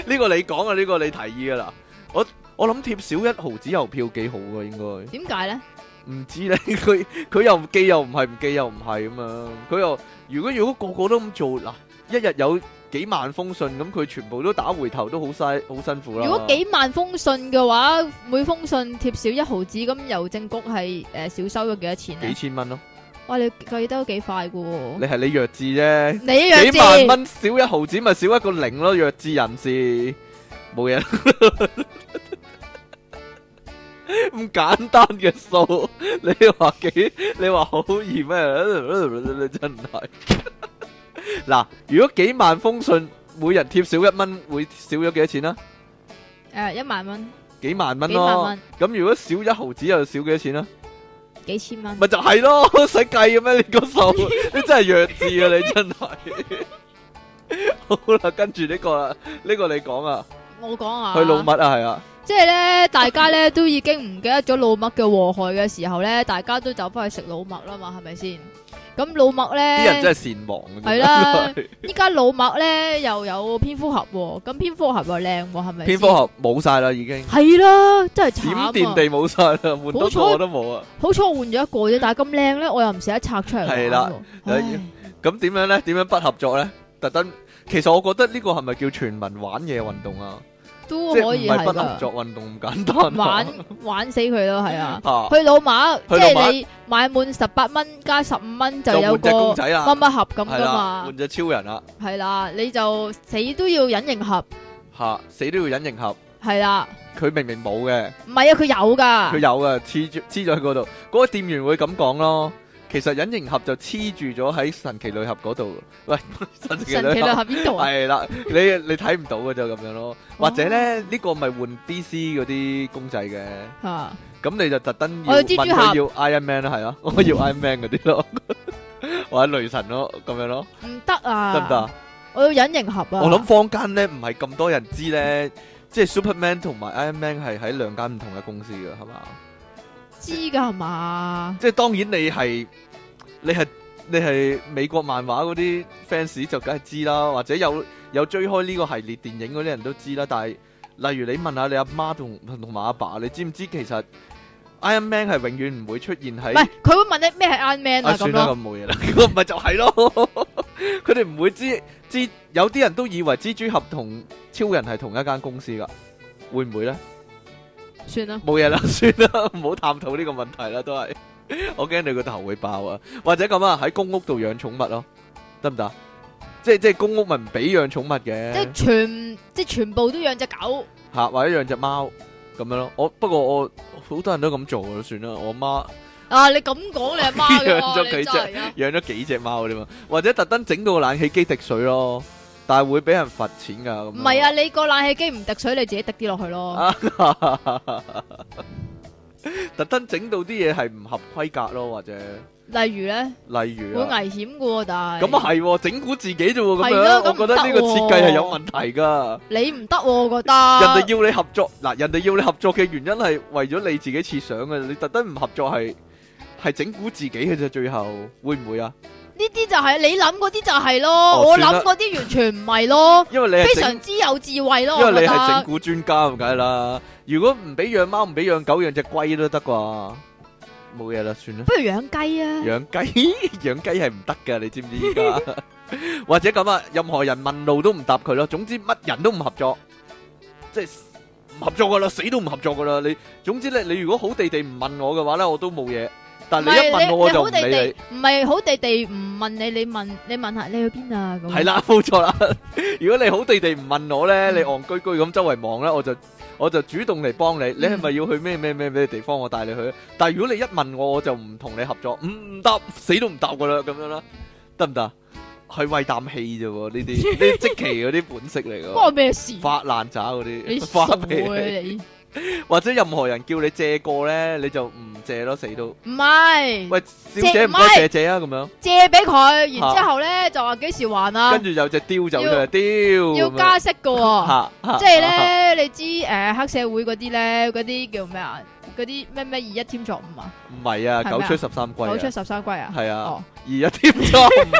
B: 呢個你講啊，呢個你提議噶啦。我我諗貼少一毫子郵票幾好噶，應該。
A: 點解咧？
B: 唔知咧，佢佢又寄又唔係，唔寄又唔係咁樣。佢又如果如果個個都咁做，嗱，一日有幾萬封信，咁佢全部都打回頭都好嘥，好辛苦啦。
A: 如果幾萬封信嘅話，每封信貼少一毫子，咁郵政局係誒少收咗幾多錢咧？
B: 幾千蚊咯。
A: 哇！你計得都幾快噶喎。
B: 你係你弱智啫。
A: 你弱智。
B: 幾萬蚊少一毫子咪少一個零咯，弱智人士冇嘢。咁簡單嘅數，你話幾？你話好易咩？你真係嗱，如果幾萬封信，每人貼少一蚊，會少咗幾多錢啊？
A: 誒，一萬蚊。
B: 幾萬蚊
A: 幾萬
B: 咯
A: 蚊。
B: 咁如果少一毫子，又少幾多錢啊？
A: 幾千蚊。
B: 咪就係咯，使計嘅咩？你個數，你真係弱智啊！你真係。好啦，跟住呢個啦，呢個你講啊。
A: 我講啊。
B: 去老麥啊，係啊。
A: 即係咧，大家咧都已經唔記得咗老麥嘅禍害嘅時候咧，大家都走翻去食老麥啦嘛，係咪先？咁老麥咧，
B: 啲人真係善忘嘅。
A: 係啦，依家老麥咧又有蝙蝠俠喎，咁蝙蝠俠又靚喎，係咪？
B: 蝙蝠俠冇晒啦，已經。
A: 係啦，真係慘啊！
B: 閃電地冇晒啦，換多個都冇啊！
A: 好彩換咗一個啫，但係咁靚咧，我又唔捨得拆出嚟。
B: 係啦，咁點樣咧？點樣不合作咧？特登，其實我覺得呢個係咪叫全民玩嘢運動啊？
A: 都可以係
B: 不合作運動咁簡單，
A: 玩玩死佢咯，係啊！
B: 啊
A: 去老馬，即
B: 去老馬
A: 係你買滿十八蚊加十五蚊就有個
B: 就換隻公仔啦
A: 乜乜盒咁
B: 係啦，
A: 噶嘛，
B: 換隻超人啦，
A: 係啦，你就死都要隱形盒，
B: 吓死都要隱形盒，
A: 係啦，
B: 佢明明冇嘅，
A: 唔係啊，佢有噶，
B: 佢有嘅，黐住黐咗喺嗰度，嗰個店員會咁講咯。其實隱形盒就黐住咗喺神奇女俠嗰度。喂，神奇
A: 神奇女俠邊度啊？
B: 係啦，你你睇唔到嘅就咁樣咯。或者咧呢個咪換 D C 嗰啲公仔嘅，
A: 吓，
B: 咁你就特登要
A: 我要蜘蛛
B: 問佢
A: 俠
B: 要 Iron Man 啦，係啊，我要 Iron Man 嗰啲咯，或者雷神咯，咁樣咯，
A: 唔得啊，
B: 得唔得啊？
A: 我要隱形盒啊！
B: 我諗坊間咧唔係咁多人知咧，即係 Superman 同埋 Iron Man 係喺兩間唔同嘅公司嘅，係嘛？
A: 知噶係嘛？
B: 即係當然你係你係你係美國漫畫嗰啲 fans 就梗係知啦，或者有有追開呢個系列電影嗰啲人都知啦。但係例如你問下你阿媽同同埋阿爸，你知唔知其實 Iron Man 係永遠唔會出現喺？
A: 唔係，佢會問你咩係 Iron Man 啊？咁
B: 算啦，
A: 咯，
B: 咁冇嘢啦。咁唔係就係咯，佢哋唔會知知，有啲人都以為蜘蛛俠同超人係同一間公司噶，會唔會咧？
A: 算啦，
B: 冇嘢啦，算啦，唔好探討呢個問題啦，都係。我驚你個頭會爆啊！或者咁啊，喺公屋度養寵物咯，得唔得？即係即係公屋咪唔俾養寵物嘅，
A: 即係全即係全部都養隻狗
B: 吓，或者養隻貓咁樣咯。我不過我好多人都咁做啊，算啦。我媽
A: 啊！你咁講你阿媽嘅
B: 養咗幾隻，養咗幾隻貓啫嘛，或者特登整到個冷氣機滴水咯，但係會俾人罰錢噶。
A: 唔係啊，你個冷氣機唔滴水，你自己滴啲落去咯。
B: 特登整到啲嘢係唔合規格咯，或者
A: 例如咧，
B: 例如
A: 會危險噶喎，但係
B: 咁啊係整蠱自己啫喎，咁
A: 係咯
B: 樣
A: 咁
B: 我覺得呢個設計係有問題噶。
A: 你唔得喎，我覺得
B: 人哋要你合作嗱，人哋要你合作嘅原因係為咗你自己設想嘅，你特登唔合作係係整蠱自己嘅啫，最後會唔會啊？
A: 呢啲就係你諗嗰啲就係咯，
B: 哦
A: 我
B: 算啦
A: 諗嗰啲完全唔係咯，
B: 因為你係整
A: 非常之有智慧咯，
B: 因為你
A: 我覺得
B: 係整蠱專家咁解啦。如果唔俾養貓，唔俾養狗，養隻龜都得啩？冇嘢啦，算啦。
A: 不如養雞啊！
B: 養雞養雞係唔得㗎，你知唔知依家？或者咁啊，任何人問路都唔答佢咯。總之乜人都唔合作，即係唔合作噶啦，死都唔合作噶啦。你總之咧，你如果好地地唔問我嘅話咧，我都冇嘢。但係你一問我，我就唔理你。
A: 唔係好地地唔問你，你問你問下你去邊啊？咁
B: 係啦，冇錯啦。如果你好地地唔問我咧，你戇居居咁周圍望咧，我就我就主動嚟幫你。你係咪要去咩咩咩咩地方？我帶你去。但係如果你一問我，我就唔同你合作，唔唔答，死都唔答噶啦，咁樣啦，得唔得？係為啖氣啫喎，呢啲呢啲積淇嗰啲本色嚟噶。
A: 關我咩事？
B: 發爛渣嗰啲，
A: 你
B: 發脾
A: 傻嘅
B: 氣。
A: 你。
B: 或者任何人叫你借過咧，你就唔借咯，死都。
A: 唔係。
B: 喂，小姐唔該借借啊，咁樣。
A: 借俾佢，然之後咧就話幾時還啊？
B: 跟住有隻雕走出嚟，雕。
A: 要加息噶喎，即係咧，你知誒黑社會嗰啲咧，嗰啲叫咩啊？嗰啲咩咩二一添作五啊？
B: 唔係啊，九出十三歸。
A: 九出十三歸啊？
B: 係啊，二一添作五。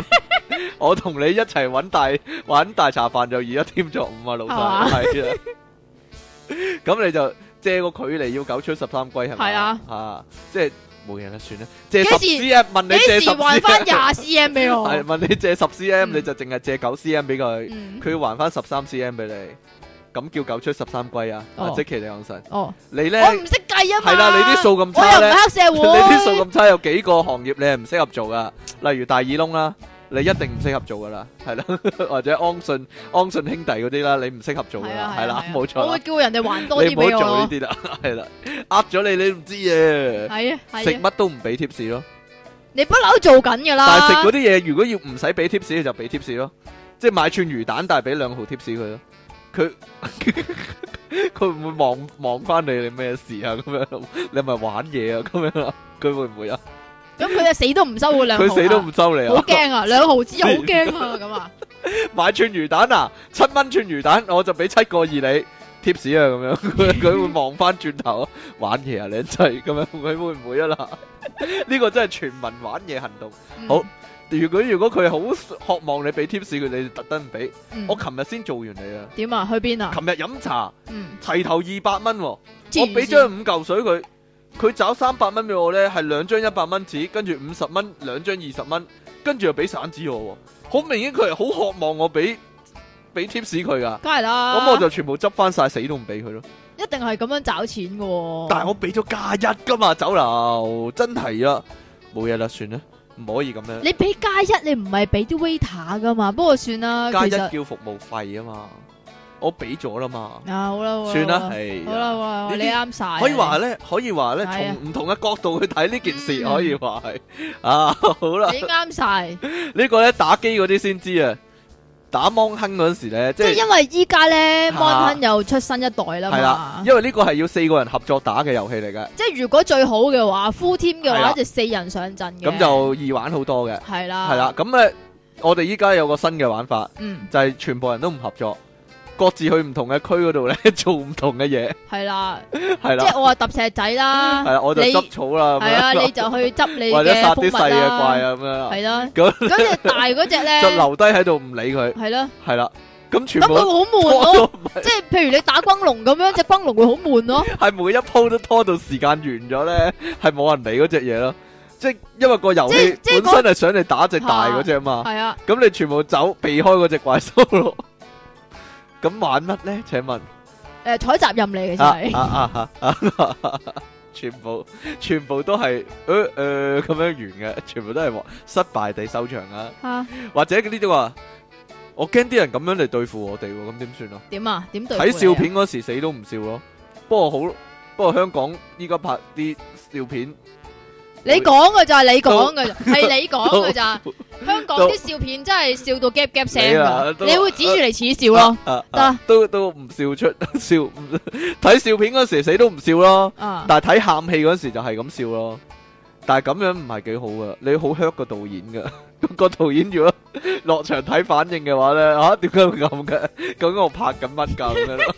B: 我同你一齊揾大揾大茶飯就而家添咗五啊，老細係啊。咁你就借個距離要九出十三歸係咪？
A: 係啊，
B: 啊，即係冇嘢啦，算啦。借十
A: 幾時
B: cm 問你借十
A: 幾時還
B: cm，
A: 翻廿 cm 俾我？
B: 係問你借十 cm，
A: 嗯
B: 你就淨係借九 cm 俾佢，
A: 嗯
B: 佢要還翻十三 cm 俾你，咁叫九出十三歸啊！
A: 哦
B: 啊即其利昂神，
A: 哦，
B: 你咧
A: 我唔識計啊嘛。
B: 係啦，你啲數咁
A: 我又唔
B: 差咧，
A: 係黑社
B: 你
A: 會。
B: 啲數咁差，有幾個行業你係唔適合做噶？例如大耳窿啦，你一定唔適合做噶啦，係啦，或者安信安信兄弟嗰啲啦，你唔適合做噶啦，係啦，冇錯啦
A: 我會。叫人哋還多
B: 你唔好
A: 啲俾我咯。
B: 做呢啲啦，係啦，呃咗你你都唔知嘅，
A: 係啊
B: 食
A: 係啊，
B: 乜都唔俾 tips 咯。
A: 你不嬲做緊噶啦。
B: 但係食嗰啲嘢，如果要唔使俾 tips，你就俾 tips 咯。即係買串魚蛋，但係俾兩毫 tips 佢咯。佢佢會唔會望望翻你？你咩事啊？咁樣你係咪玩嘢啊？咁樣啊？佢會唔會啊？
A: 咁佢就死都唔收嗰兩毫啊。
B: 佢死都唔收你啊！
A: 好驚啊！兩毫子好驚啊！咁啊，
B: 買串魚蛋啊，七蚊串魚蛋，我就俾七個二你 tips 啊，咁樣佢佢會望翻轉頭啊，玩嘢啊，你真係咁樣，佢會唔會啊啦？呢個真係全民玩嘢行動。
A: 嗯
B: 好，如果如果佢好渴望你俾 tips 佢，你特登唔俾。
A: 嗯
B: 我琴日先做完你啊，
A: 點啊？去邊啊？
B: 琴日飲茶
A: 嗯，
B: 齊頭二百蚊喎，我
A: 黐線
B: 俾張五嚿水佢，佢找三百蚊俾我咧，係兩張一百蚊紙，跟住五十蚊兩張二十蚊，跟住又俾散紙我喎，好明顯佢係好渴望我俾俾 tips 佢噶，
A: 梗係啦。
B: 咁我就全部執翻晒，死都唔俾佢咯。
A: 一定係咁樣找錢噶喎。
B: 但係我俾咗加一噶嘛，酒樓真係啊，冇嘢啦，算啦，唔可以咁樣。
A: 你俾加一，你唔係俾啲 waiter 噶嘛？不過算啦，
B: 加一
A: 其實
B: 叫服務費啊嘛，我俾咗啦嘛，
A: 啊好啦，好啦
B: 算啦，
A: 好啦
B: 係
A: 好啦好啦，
B: 呢啲
A: 你啱晒。
B: 可以話咧，可以話咧，
A: 係啊
B: 從唔同嘅角度去睇呢件事，
A: 嗯
B: 可以話係啊，好啦，
A: 你啱晒，
B: 呢個咧打機嗰啲先知啊，打芒亨嗰陣時咧，即係
A: 即係因為依家咧
B: 啊
A: Mon 亨又出新一代啦
B: 係啦
A: 嘛，。
B: 因為呢個係要四個人合作打嘅遊戲嚟嘅，
A: 即係如果最好嘅話，full team 嘅
B: 係啦
A: 話就四人上陣嘅。
B: 咁就易玩好多嘅，
A: 係啦，
B: 係啦，咁咧我哋依家有個新嘅玩法，
A: 嗯，
B: 就係全部人都唔合作，各自去唔同嘅區嗰度咧做唔同嘅嘢，
A: 係啦，
B: 係啦，
A: 即係我話揼石仔啦，
B: 係啦，我就
A: 你
B: 執草啦，咁
A: 係啊，
B: 樣
A: 你就去執你
B: 或者殺
A: 嘅蜂蜜
B: 啲細嘅怪
A: 啦，
B: 啊咁樣，
A: 係啦，
B: 咁
A: 嗰隻大嗰隻咧
B: 就留低喺度唔理佢，
A: 係咯，
B: 係啦，咁全部
A: 咁佢好悶
B: 拖
A: 咯，
B: 到唔係
A: 即係譬如你打轟龍咁樣，隻轟龍會好悶咯，
B: 係每一鋪都拖到時間完咗咧，係冇人理嗰隻嘢咯。即係因為個遊戲
A: 即係
B: 本身係想你打隻大嗰隻嘛，
A: 係啊，
B: 咁你全部走避開嗰隻怪獸咯。咁玩乜咧？請問
A: 誒採集任嚟嘅就
B: 啊
A: 係，
B: 啊啊啊啊！全部全部都係誒誒咁樣完嘅，全部都係失敗地收場啊！
A: 嚇
B: 或者呢啲話，我驚啲人咁樣嚟對付我哋喎，咁點算啊？
A: 點啊？點對付
B: 睇
A: 你啊
B: 笑片嗰時死都唔笑咯。不過好，不過香港依家拍啲笑片，
A: 你講嘅就係你講嘅，係你講嘅咋？香港啲笑片真係笑到 gap gap 聲
B: 你啊
A: 㗎，
B: 都
A: 你會指住嚟恥笑咯，
B: 啊
A: 得
B: 啊都都唔笑出笑，睇笑片嗰時死都唔笑咯。
A: 啊！
B: 但係睇喊戲嗰時就係咁笑咯。但係咁樣唔係幾好噶，你好 hurt 個導演噶。個導演如果落場睇反應嘅話咧，吓點解會咁嘅？究竟我拍緊乜噶咁樣咯？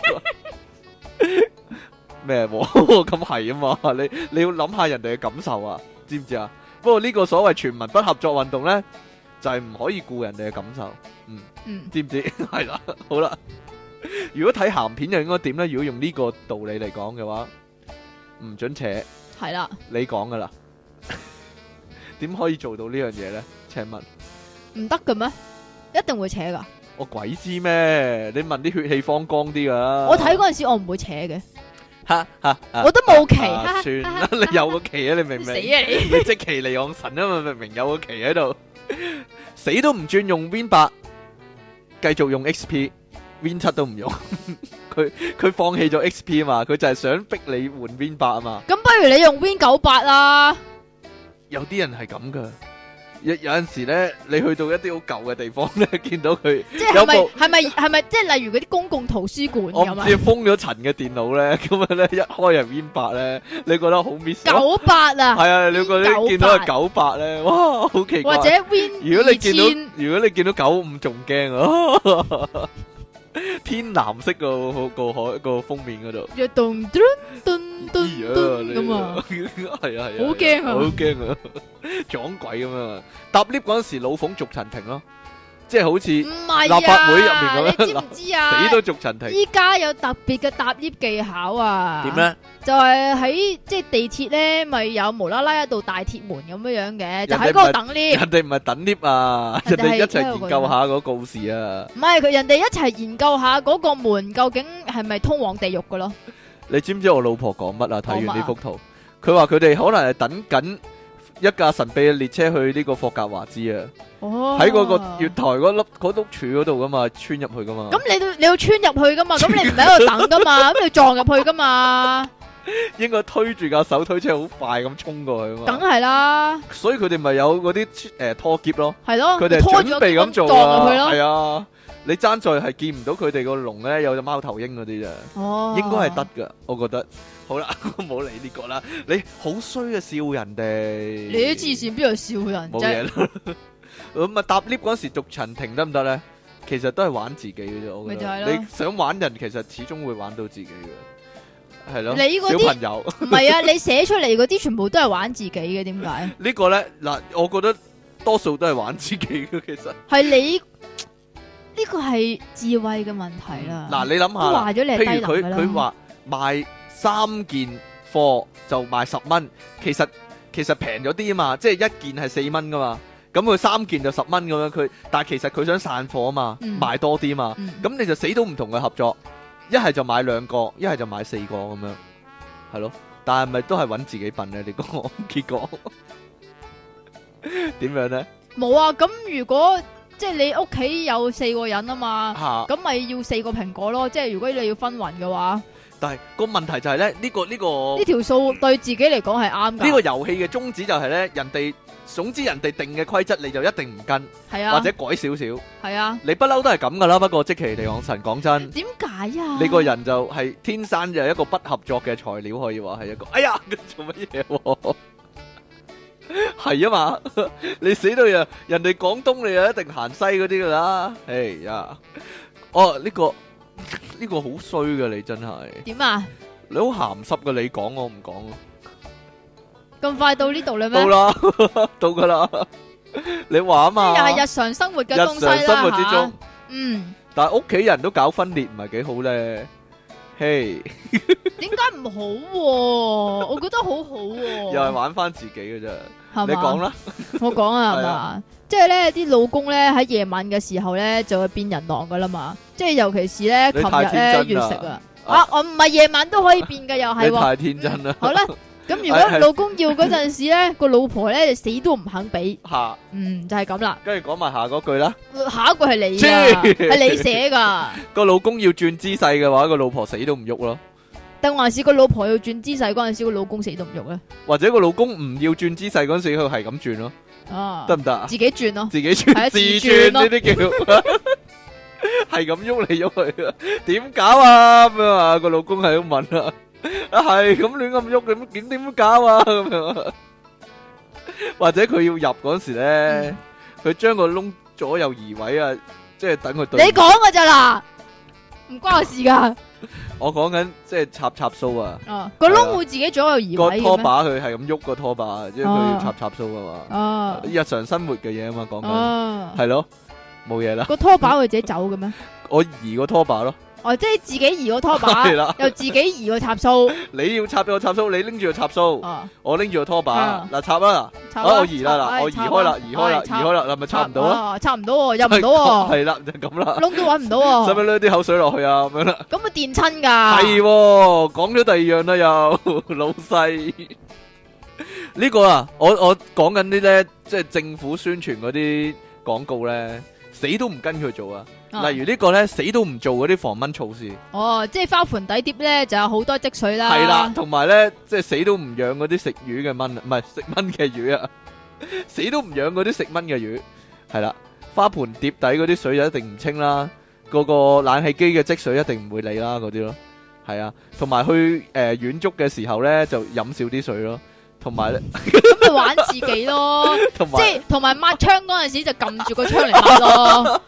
B: 咩？咁係啊嘛？你你要諗下人哋嘅感受啊，知唔知啊？不過呢個所謂全民不合作運動咧，就係唔可以顧人哋嘅感受。嗯，
A: 嗯，
B: 知唔知？係啦，好啦。如果睇鹹片又應該點咧？如果用呢個道理嚟講嘅話，唔准扯，
A: 係啦，
B: 你講噶啦。點可以做到呢樣嘢咧？請問
A: 唔得嘅咩？一定會扯㗎。
B: 我鬼知咩？你問啲血氣方剛啲噶。
A: 我睇嗰陣時我唔會扯嘅，
B: 吓吓，
A: 我都冇旗，
B: 啊
A: 哈哈
B: 算啦，
A: 哈哈
B: 你有個旗啊！你明唔
A: 死啊
B: 明？
A: 你！
B: 你即其離岸神啊嘛，明明有個旗喺度，死都唔轉用 Win 八，繼續用 X P，Win 七都唔用。佢佢放棄咗 X P 啊嘛，佢就係想逼你換 Win 八啊嘛。
A: 咁不如你用 Win 九八啦。
B: 有啲人係咁噶，有有陣時咧，你去到一啲好舊嘅地方咧，見到佢
A: 即係係咪
B: 有部
A: 係咪係咪即係例如嗰啲公共圖書館
B: 我唔
A: 咁啊？
B: 知封咗塵嘅電腦咧，咁樣咧一開入 Win 八咧，你覺得好 miss 咯？
A: 九八啊，
B: 係啊，你覺得見到係九八咧，哇，好奇怪！
A: 或者 Win
B: 如果你見到
A: 二千
B: 如果你見到九五仲驚啊！天藍色個個海個封面嗰度，
A: 要咚咚咚咚
B: 咦
A: 咚咁啊！
B: 係啊係啊，
A: 好驚啊
B: 好驚啊！ 撞鬼咁樣。搭 lift 嗰陣時，老馮逐層停咯，即係好似
A: 唔係啊，
B: 立法會入面咁樣
A: 你知唔知啊？
B: 死都逐層停。
A: 依家有特別嘅搭 lift 技巧啊！
B: 點咧？
A: 就係喺即係地鐵咧，咪有無啦啦一道大鐵門咁樣樣嘅，就喺
B: 人哋唔係
A: 嗰度等 lift。
B: 人哋唔係等 lift 啊，人
A: 人哋係
B: 哋一齊研究下嗰個告示啊。
A: 唔係佢人哋一齊研究下嗰個門究竟係咪通往地獄嘅咯？
B: 你知唔知我老婆講乜啊？睇
A: 講乜啊
B: 完呢幅圖，佢話佢哋可能係等緊一架神秘嘅列車去呢個霍格華茲啊，
A: 哦，
B: 喺嗰個月台嗰粒嗰碌柱嗰度噶嘛，穿入去噶嘛。
A: 咁你都你要穿入去噶嘛？咁你唔係喺度等噶嘛？咁你要撞入去噶嘛？
B: 應該推住架手推車好快咁衝過去啊
A: 梗
B: 嘛。
A: 係啦，
B: 所以佢哋咪有嗰啲誒拖篋咯，
A: 係咯，
B: 佢哋係
A: 拖住
B: 準備咁做啊。
A: 撞入去咯。
B: 係啊，你爭在係見唔到佢哋個籠咧有隻貓頭鷹嗰啲咋。
A: 哦，
B: 應該係得噶，我覺得。好啦，冇理呢個啦。你好衰啊，笑人哋。
A: 你啲黐線邊度笑人
B: 冇
A: 啫？
B: 嘢啦。咁啊，搭 lift 嗰時逐層停得唔得咧？其實都係玩自己嘅啫，我覺得。
A: 咪就係咯
B: 你想玩人，其實始終會玩到自己嘅，係咯。
A: 你嗰啲
B: 小朋友
A: 唔係啊，你寫出嚟嗰啲全部都係玩自己嘅，點解？
B: 呢個咧嗱，我覺得多數都係玩自己嘅，其實。
A: 係你呢個係智慧嘅問題啦。
B: 嗱，你諗
A: 都
B: 下啦，
A: 話咗你係
B: 譬如佢
A: 低能㗎啦。
B: 佢話賣三件貨就賣十蚊，其實其實平咗啲啊嘛，即係一件係四蚊噶嘛，咁佢三件就十蚊咁樣，佢但係其實佢想散貨啊嘛，
A: 嗯
B: 賣多啲嘛，
A: 嗯
B: 咁你就死都唔同佢合作，一係就買兩個，一係就買四個咁樣，係咯，但係咪都係揾自己笨咧？你講結果點樣咧？
A: 冇啊，咁如果即係你屋企有四個人啊嘛，
B: 嚇！
A: 咁咪要四個蘋果咯。即係如果你要分勻嘅話，
B: 但係個問題就係咧，呢個呢個
A: 呢條數對自己嚟講係啱㗎。
B: 呢個遊戲嘅宗旨就係咧，人哋總之人哋定嘅規則你就一定唔跟，
A: 係啊，
B: 或者改少少。
A: 係啊，
B: 你不嬲都係咁噶啦，不過即其地講神講真，
A: 點解啊？
B: 你個人就係天生就係一個不合作嘅材料，可以話係一個。哎呀，做乜嘢喎？係啊嘛，你死到人，人哋廣東你就一定行西嗰啲噶啦。哎呀，哦呢個呢個好衰噶，你真係
A: 點啊？
B: 你好鹹濕噶，你講我唔講啊。
A: 咁快到呢度啦咩？
B: 到啦，到噶啦。你話啊嘛，
A: 又係日常生活嘅東西啦，
B: 日常生活之中
A: 嚇嗯，
B: 但係屋企人都搞分裂，唔係幾好咧。嘿，
A: 點解唔好喎？我覺得好好喎。
B: 又係玩翻自己嘅啫。
A: 係嘛
B: 你講啦，
A: 我講啊，係
B: 係
A: 嘛
B: 啊？
A: 即係咧，啲老公咧喺夜晚嘅時候咧就會變人狼噶啦嘛。即係尤其是咧，
B: 你
A: 琴日
B: 太天真
A: 咧月
B: 啦
A: 食啊，
B: 啊
A: 啊，我唔係夜晚都可以變嘅，又係喎。
B: 你太天真啦。
A: 好啦，咁如
B: 係係
A: 果老公要嗰陣時咧，個老婆咧就死都唔肯俾，
B: 吓，
A: 嗯，就係咁啦。
B: 跟住講埋下嗰句啦。
A: 下一句係你
B: 切
A: 噶，係你寫噶，
B: 個老公要轉姿勢嘅話，個老婆死都唔喐咯。
A: 定還是個老婆要轉姿勢嗰陣時，個老公死都唔喐咧？
B: 或者個老公唔要轉姿勢嗰陣時，佢係咁轉咯，
A: 啊，
B: 得唔得啊？
A: 自己轉咯，
B: 自己
A: 係啊
B: 轉，自
A: 自
B: 轉
A: 轉咯
B: 呢啲叫係咁喐嚟喐去啊？點搞啊？咁樣啊？個老公係咁問啊，啊係咁亂咁喐，咁點點搞啊？咁樣啊，或者佢要入嗰時咧，佢將個窿左右移位啊，即係等佢對。
A: 你講噶咋啦？唔關我事噶。
B: 我講緊即係插插蘇啊，
A: 啊，個窿會自己左右移
B: 個拖
A: 位嘅咩？
B: 把佢係咁喐個拖把，即係佢要插插蘇啊嘛。
A: 啊
B: 日常生活嘅嘢啊嘛，講緊
A: 啊，
B: 係咯，冇嘢啦。
A: 個拖把會自己走嘅咩？
B: 我移個拖把咯，
A: 哦，即係自己移個拖把，
B: 係啦
A: 又自己移個插蘇。
B: 你要插個插蘇，你拎住個插蘇，
A: 啊，
B: 我拎住個拖把
A: 啊，
B: 嗱插啦，
A: 插
B: 啊我移啦
A: 插
B: 嗱，我移開啦，移開啦，移開啦，嗱咪插唔到咯，
A: 啊，插唔到喎，入唔到喎，
B: 係啦就咁啦，
A: 窿都揾唔到
B: 使唔使
A: 喎，
B: 攞啲口水落去啊咁樣啦？
A: 咁啊電親㗎。
B: 係喎，講咗第二樣啦又，老細呢個啊，我我講緊啲咧，即係政府宣傳嗰啲廣告咧，死都唔跟佢做啊。
A: 啊
B: 例如呢個咧，死都唔做嗰啲防蚊措施，
A: 哦，即係花盆底碟咧就有好多積水啦。
B: 係啦，同埋咧，即係死都唔養嗰啲食魚嘅蚊，唔係食蚊嘅魚啊，死都唔養嗰啲食蚊嘅魚，係啦，花盆碟底嗰啲水就一定唔清啦，嗰個冷氣機嘅積水一定唔會理啦，嗰啲咯，係啊，同埋去誒遠足嘅時候咧就飲少啲水咯，同埋咧，
A: 咁咪玩自己咯，
B: 同埋
A: 即係同埋抹窗嗰陣時就撳住個窗嚟抹咯。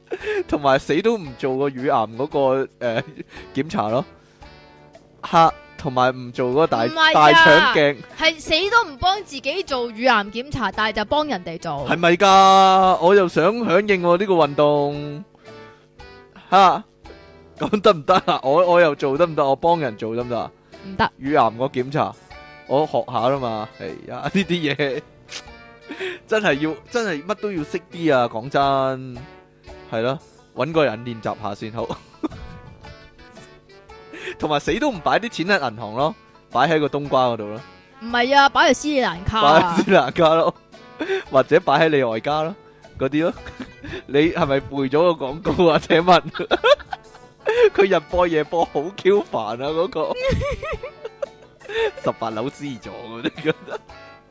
A: 同
B: 同埋死都唔做個乳癌嗰個誒檢查咯，嚇。 同埋唔做嗰個大
A: 唔係啊
B: 大腸鏡，
A: 係死都唔幫自己做乳癌檢查，但係就幫人哋做。
B: 係咪噶？我又想響應喎呢個運動，吓咁得唔得啊？我我又做得唔得？我幫人做得唔得啊？
A: 唔得。
B: 乳癌個檢查，我學下啦嘛。係呀，呢啲嘢真係要，真係乜都要識啲啊！講真，係咯，搵個人練習下先好。同埋死都唔擺啲錢喺銀行咯，擺喺個冬瓜嗰度咯，
A: 唔係啊，擺喺斯里蘭卡
B: 擺
A: 啊
B: 喺斯蘭卡咯，或者擺喺你外家咯，嗰啲咯。你係咪背咗個廣告啊？請問佢日播夜播好 Q 煩啊！嗰、個十八樓 C 座嗰啲覺得。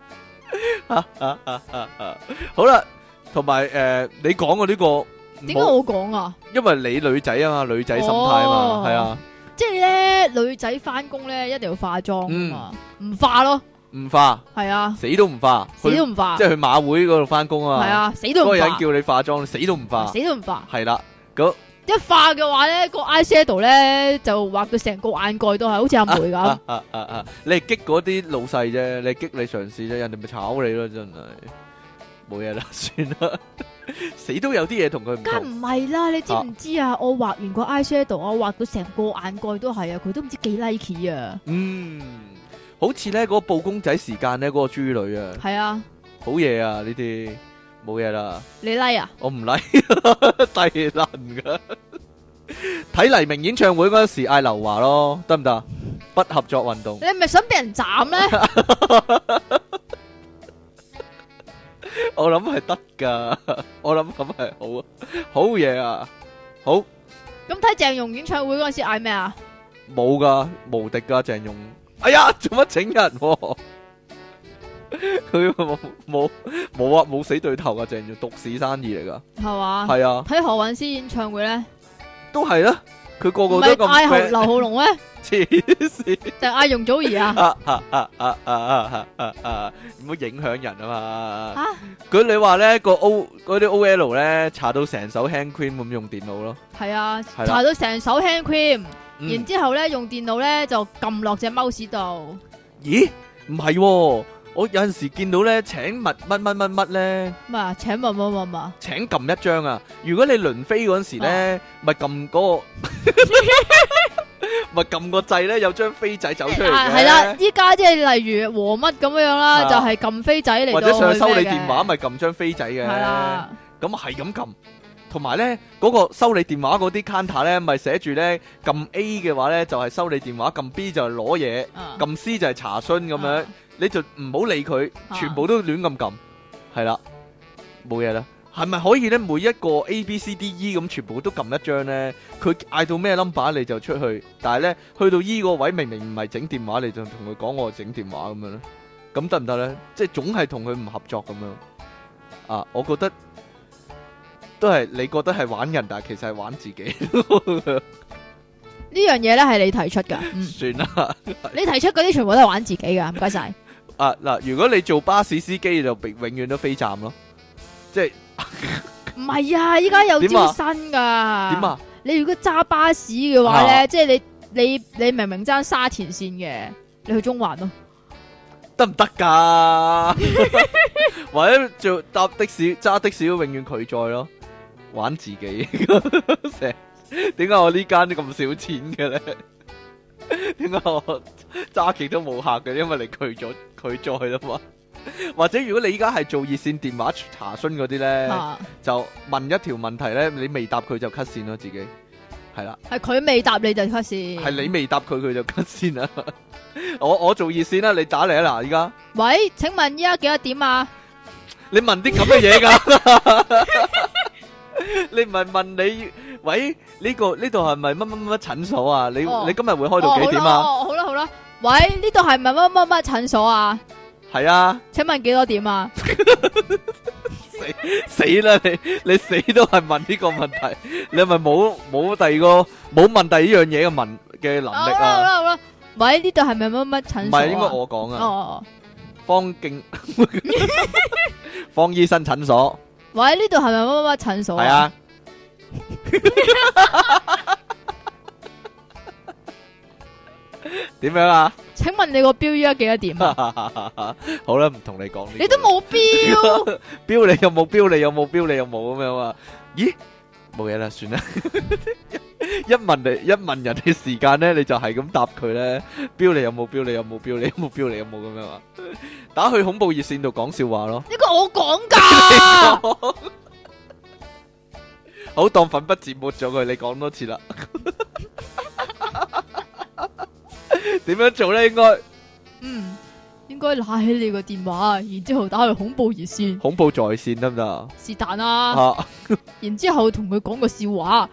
B: 好啦，同埋誒，你講嘅呢個
A: 點解我講啊？
B: 因為你女仔啊嘛，女仔心態啊嘛，
A: 哦
B: 係啊。
A: 即係咧，女仔翻工咧一定要化妝啊嘛，唔化咯，
B: 唔化，
A: 係啊，
B: 死都唔化，
A: 死都唔化，
B: 即係去馬會嗰度翻工啊嘛。
A: 係啊，死都唔化。
B: 嗰個人叫你化妝，死都唔化，
A: 死都唔化。
B: 係啦，咁
A: 一化嘅話咧，個 eye shadow 咧就畫到成個眼蓋都係，好似阿梅咁。
B: 啊啊啊啊！你係激嗰啲老細啫，你係激你上司啫，人哋咪炒你咯，真係冇嘢啦，算啦，死都有啲嘢同佢唔
A: 梗
B: 同。
A: 唔係啦，你知唔知啊？我畫完個 eye shadow，我畫到成個眼蓋都係啊，佢都唔知幾 like 啊。
B: 嗯，好似咧嗰個報公仔時間咧，嗰個豬女啊，
A: 係啊，
B: 好嘢啊！呢啲冇嘢啦，
A: 你 like 啊？
B: 我唔 like 低能噶。睇黎明演唱會嗰陣時嗌劉華咯，得唔得？不合作運動。
A: 你係咪想俾人斬咧？
B: 我諗係得噶，我諗咁係好啊，好嘢啊，好
A: 咁睇鄭融演唱會嗰陣時嗌咩啊？
B: 冇噶，無敵噶鄭融。哎呀，做乜整人喎？佢冇冇冇啊，冇死對頭啊，鄭融獨市生意嚟噶，
A: 係嘛？
B: 係啊，
A: 睇何韻詩演唱會咧，
B: 都係啦，佢個
A: 唔
B: 個都咁
A: 係嗌何
B: friend，
A: 劉浩龍咩？
B: 黐線。
A: 定嗌容祖兒啊？
B: 啊啊啊啊啊啊啊啊！唔好影響人啊嘛。
A: 吓，
B: 佢你話咧個 O 嗰啲 O L 咧搽到成手 hand cream 咁用電腦咯。
A: 係啊，
B: 係啦
A: 搽到成手 hand cream，
B: 嗯
A: 然之後咧用電腦咧就撳落隻 mouse 度。
B: 咦？唔係喎，我有陣時見到咧請乜乜乜乜乜咧，
A: 咩啊？請問乜乜乜？
B: 請撳一張啊！如果你輪飛嗰陣時咧，咪撳嗰個，咪撳個掣咧，有張飛仔走出嚟嘅。
A: 係啦，依家即係例如和乜咁樣啦，
B: 係啊
A: 就係撳飛仔嚟
B: 或
A: 到
B: 者上去收你
A: 去咩嘅
B: 電話，咪撳張飛仔嘅。
A: 係啦，
B: 咁係咁撳，同埋咧嗰個收你電話嗰啲 counter 咧，咪寫住咧撳 A 嘅話咧就係收你電話，撳 B 就係攞嘢，
A: 啊
B: 撳 C 就係查詢咁樣，
A: 啊
B: 你就唔好理佢，
A: 啊
B: 全部都亂咁撳，係啦，冇嘢啦。係咪可以咧？每一個 A、B、C、D、E 咁全部都撳一張咧？佢嗌到咩 number 你就出去，但係咧去到 E 個位明明唔係整電話，你就同佢講我整電話咁樣咧，咁得唔得咧？即係總係同佢唔合作咁樣。啊，我覺得都係你覺得係玩人，但係其實係玩自己。
A: 呢樣嘢咧係你提出噶，嗯，
B: 算啦。
A: 你提出嗰啲全部都係玩自己噶，唔該晒。
B: 啊嗱，如果你做巴士司機，就永永遠都飛站咯，即係
A: 唔係啊，依家有
B: 點啊
A: 招新噶。
B: 點啊？
A: 你如果揸巴士嘅話咧，
B: 啊
A: 即係你你你明明揸沙田線嘅，你去中環咯。
B: 得唔得噶？或者做搭的士揸的士都永遠拒載咯，玩自己。成點解我呢間咁少錢嘅咧？點解我揸極都冇客嘅？因為你拒咗拒載啦嘛。或者如果你依家係做熱線電話查詢嗰啲咧，
A: 啊，
B: 就問一條問題咧，你未答佢就 cut 線咯，自己係啦。
A: 係佢未答你就 cut 線。
B: 係你未答佢，佢就 cut 線啦。我我做熱線啦，你打嚟啊嗱，依家
A: 喂，請問依家幾多點啊？
B: 你問啲咁嘅嘢噶？你唔係問你喂呢個呢度係咪乜乜乜診所啊？你
A: 哦
B: 你今日會開到幾點啊？
A: 哦，好啦好啦，喂，呢度係咪乜乜乜診所啊？
B: 係啊，
A: 請問幾多點啊？
B: 死死啦你你死都係問呢個問題，你係咪冇冇第二個冇問第二樣嘢嘅問嘅能力
A: 好啦好
B: 啊？
A: 啦好啦，喂，呢度係咪乜乜診所啊？
B: 唔係應該我講
A: 哦
B: 啊，
A: 哦，
B: 方敬方醫生診所
A: 喂，呢度係咪乜乜乜診所
B: 係啊。 點樣啊？
A: 請問你個標依家幾多點啊？
B: 好啦，唔同你講呢個。
A: 你都冇標，
B: 標你有冇標？你有冇標？你有冇咁樣啊？咦，冇嘢啦，算啦。一問你一問人嘅時間咧，你就係咁答佢咧。標你有冇標？你有冇標？你有冇標？你有冇咁樣啊？打去恐怖熱線度講笑話咯。
A: 呢個我講噶。
B: 好，當粉筆字抹咗佢，你講多次啦。點樣做咧？應該
A: 嗯，應該拿起你個電話，然之後打去恐怖熱線，
B: 恐怖在線得唔得？
A: 是但啦。
B: 啊，
A: 然之後同佢講個笑話，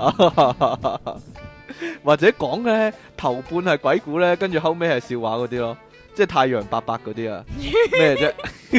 B: 或者講咧頭半係鬼故咧，跟住後尾係笑話嗰啲咯，即係太陽伯伯嗰啲啊，咩啫？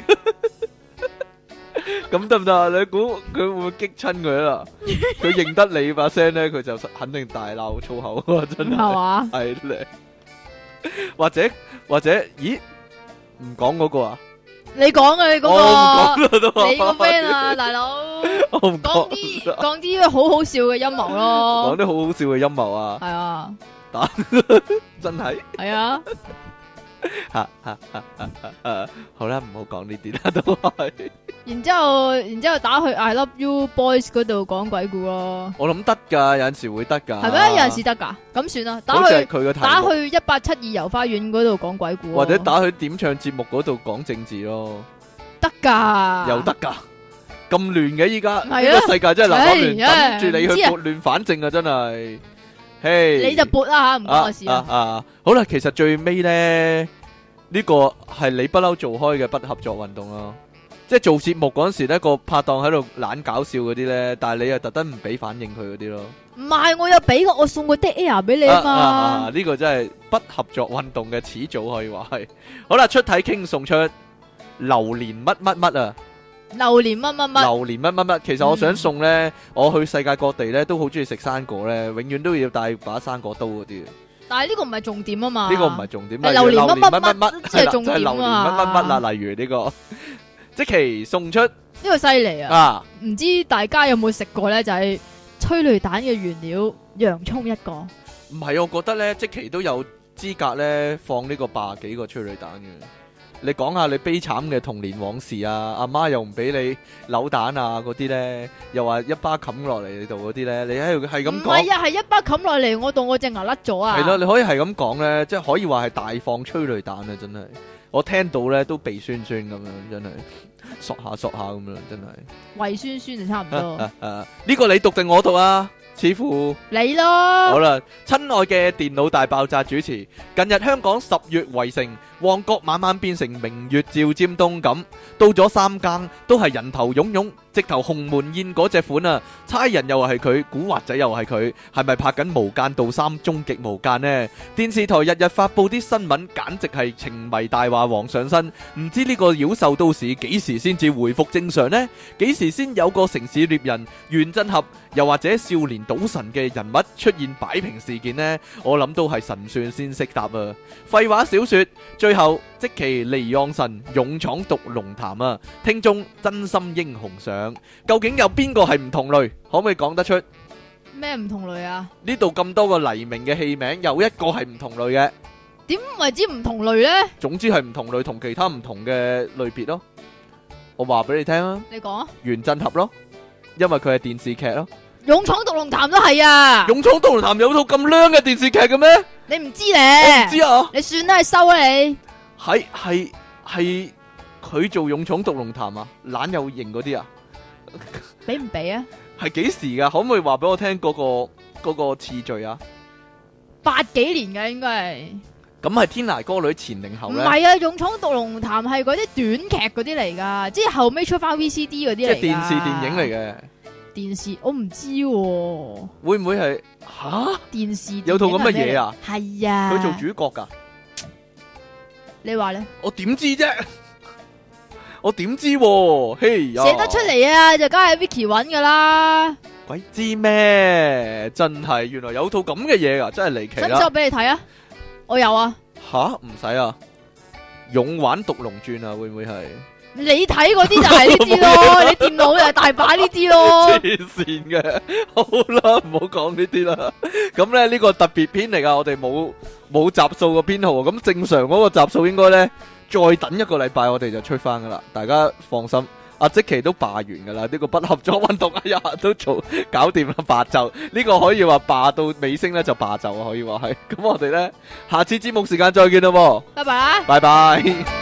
B: 咁得唔得啊？你估佢會唔會激親佢啦？佢認得你把聲咧，佢就肯定大鬧粗口啊！真係
A: 係嘛？
B: 係咧，或者或者，咦？唔講嗰個啊？
A: 你講啊，你嗰
B: 我唔講啦
A: 個，
B: 都。
A: 你個 friend 啊，大佬，
B: 我唔
A: 講
B: 講
A: 啲講啲好好笑嘅陰謀
B: 講
A: 咯，
B: 啲好好笑嘅陰謀啊！
A: 係啊，
B: 真係。
A: 係啊，
B: 吓吓吓吓吓！好啦，唔好講呢啲啦，都係。
A: 然之後然之後打去 I Love You Boys 嗰度講鬼故咯，
B: 我諗得噶，有陣時會得噶。
A: 係咩？有陣時得噶，咁算啦，打
B: 好似係
A: 去
B: 佢個題目
A: 打去一八七二遊花園嗰度講鬼故咯，
B: 或者打去點唱節目嗰度講政治咯，
A: 得噶，
B: 又得噶。咁亂嘅依家，呢
A: 係啊
B: 個世界真係立亂，
A: 唉
B: 等住你去
A: 唔知啊
B: 撥亂反正啊！真係，嘿，
A: 你就撥啦吓，唔關我事啊。
B: 啊啊！好啦，其實最尾咧，呢個係你不嬲做開嘅不合作運動咯。即係做節目嗰陣時咧，個拍檔喺度懶搞笑嗰啲咧，但係你又特登唔俾反應佢嗰啲咯。
A: 唔係，我有俾過，我送個 dead air 俾你啊嘛。
B: 啊呢個真係不合作運動嘅始祖，可以話係。好啦，出體傾送出榴蓮乜乜乜啊！
A: 榴蓮乜乜乜，
B: 榴蓮乜乜乜，其實我想送咧，我去世界各地咧都好中意食生果咧，永遠都要帶把生果刀嗰啲。
A: 但係呢個唔係重點啊嘛。
B: 呢個唔係重點，
A: 係
B: 例如
A: 榴蓮乜乜乜
B: 乜
A: 先係重點啊
B: 就係榴蓮乜乜乜啦，例如呢個即期送出
A: 呢個犀利啊！
B: 啊，
A: 唔知大家有冇食過咧？就係催淚彈嘅原料，洋葱一個。
B: 唔係，我覺得咧，即期都有資格咧放呢個八十幾個催淚彈嘅。你講下你悲慘嘅童年往事啊，阿媽又唔俾你扭蛋啊嗰啲咧，又話一巴冚落嚟你度嗰啲咧，你喺度係咁
A: 唔
B: 講。
A: 係啊，係一巴冚落嚟，我度我隻牙甩咗啊！
B: 係咯，你可以係咁講咧，即係可以話係大放催淚彈啊！真係，我聽到咧都鼻酸酸咁樣，真係索下索下咁樣，真係。
A: 胃酸酸就差唔多。
B: 誒，呢個你讀定我讀啊？似乎
A: 你咯。
B: 好啦，親愛嘅電腦大爆炸主持，近日香港十月圍城，旺角晚晚變成明月照尖東咁，到咗三更都係人頭湧湧，直頭鴻門宴嗰隻款啊！差人又係佢，古惑仔又係佢，係咪拍緊《無間道三》終極無間呢？電視台日日發佈啲新聞，簡直係情迷大話王上身，唔知呢個妖獸都市幾時先至回復正常呢？幾時先有個城市獵人、原振俠，又或者少年賭神嘅人物出現擺平事件呢？我諗都係神算先識答啊！廢話少說，最後積淇離岸神勇闖毒龍潭啊！聽眾真心英雄上，究竟有邊個係唔同類？可唔可以講得出？
A: 咩唔同類啊？
B: 呢度咁多個黎明嘅戲名，有一個係唔同類嘅。
A: 點為之唔同類呢？
B: 總之係唔同類，同其他唔同嘅類別咯。我話俾你聽啊，
A: 你講啊！
B: 原振俠咯，因為佢係電視劇咯。
A: 勇闖毒龍潭都係啊！
B: 勇闖毒龍潭有套咁靚嘅電視劇嘅咩？
A: 你唔知
B: 我
A: 咧？
B: 唔知啊。
A: 你算啦，係收啦你。
B: 係係係佢做勇闖毒龍潭啊，懶有型嗰啲啊，
A: 俾唔俾啊？
B: 係幾時噶？可唔可以話俾我聽嗰個嗰個次序啊？
A: 八幾年嘅應該係。
B: 咁係天涯歌女前定後咧？
A: 唔係啊，勇闖毒龍潭係嗰啲短劇嗰啲嚟噶，即係後尾出翻 V C D 嗰啲嚟。
B: 即係電視電影嚟嘅。
A: 電視我唔知喎。
B: 會唔會係吓？
A: 電視電影
B: 有套咁嘅嘢啊？
A: 係啊。
B: 佢做主角噶？
A: 你話咧？
B: 我點知啫？我點知喎？嘿呀！
A: 寫得出嚟啊，就梗係 Vicky 搵噶啦。
B: 鬼知咩？真係原來有套咁嘅嘢噶，真係離奇啦！
A: 使唔使我俾你睇啊？我有啊。
B: 吓，唔使啊！勇玩毒龍傳啊，會唔會係？
A: 你睇嗰啲就係呢啲咯，你電腦就係大把呢啲咯。
B: 黐線嘅，好啦，唔好講呢啲啦。咁咧呢個特別篇嚟噶，我哋冇冇集數個編號，咁正常嗰個集數應該咧再等一個禮拜，我哋就出翻噶啦，大家放心。阿積淇都罷完噶啦，呢個不合作運動哎呀都做搞掂啦，罷就呢個可以話罷到尾聲咧就罷就啊，可以話係。咁我哋咧下次節目時間再見啦喎，
A: 拜拜啦。
B: 拜拜。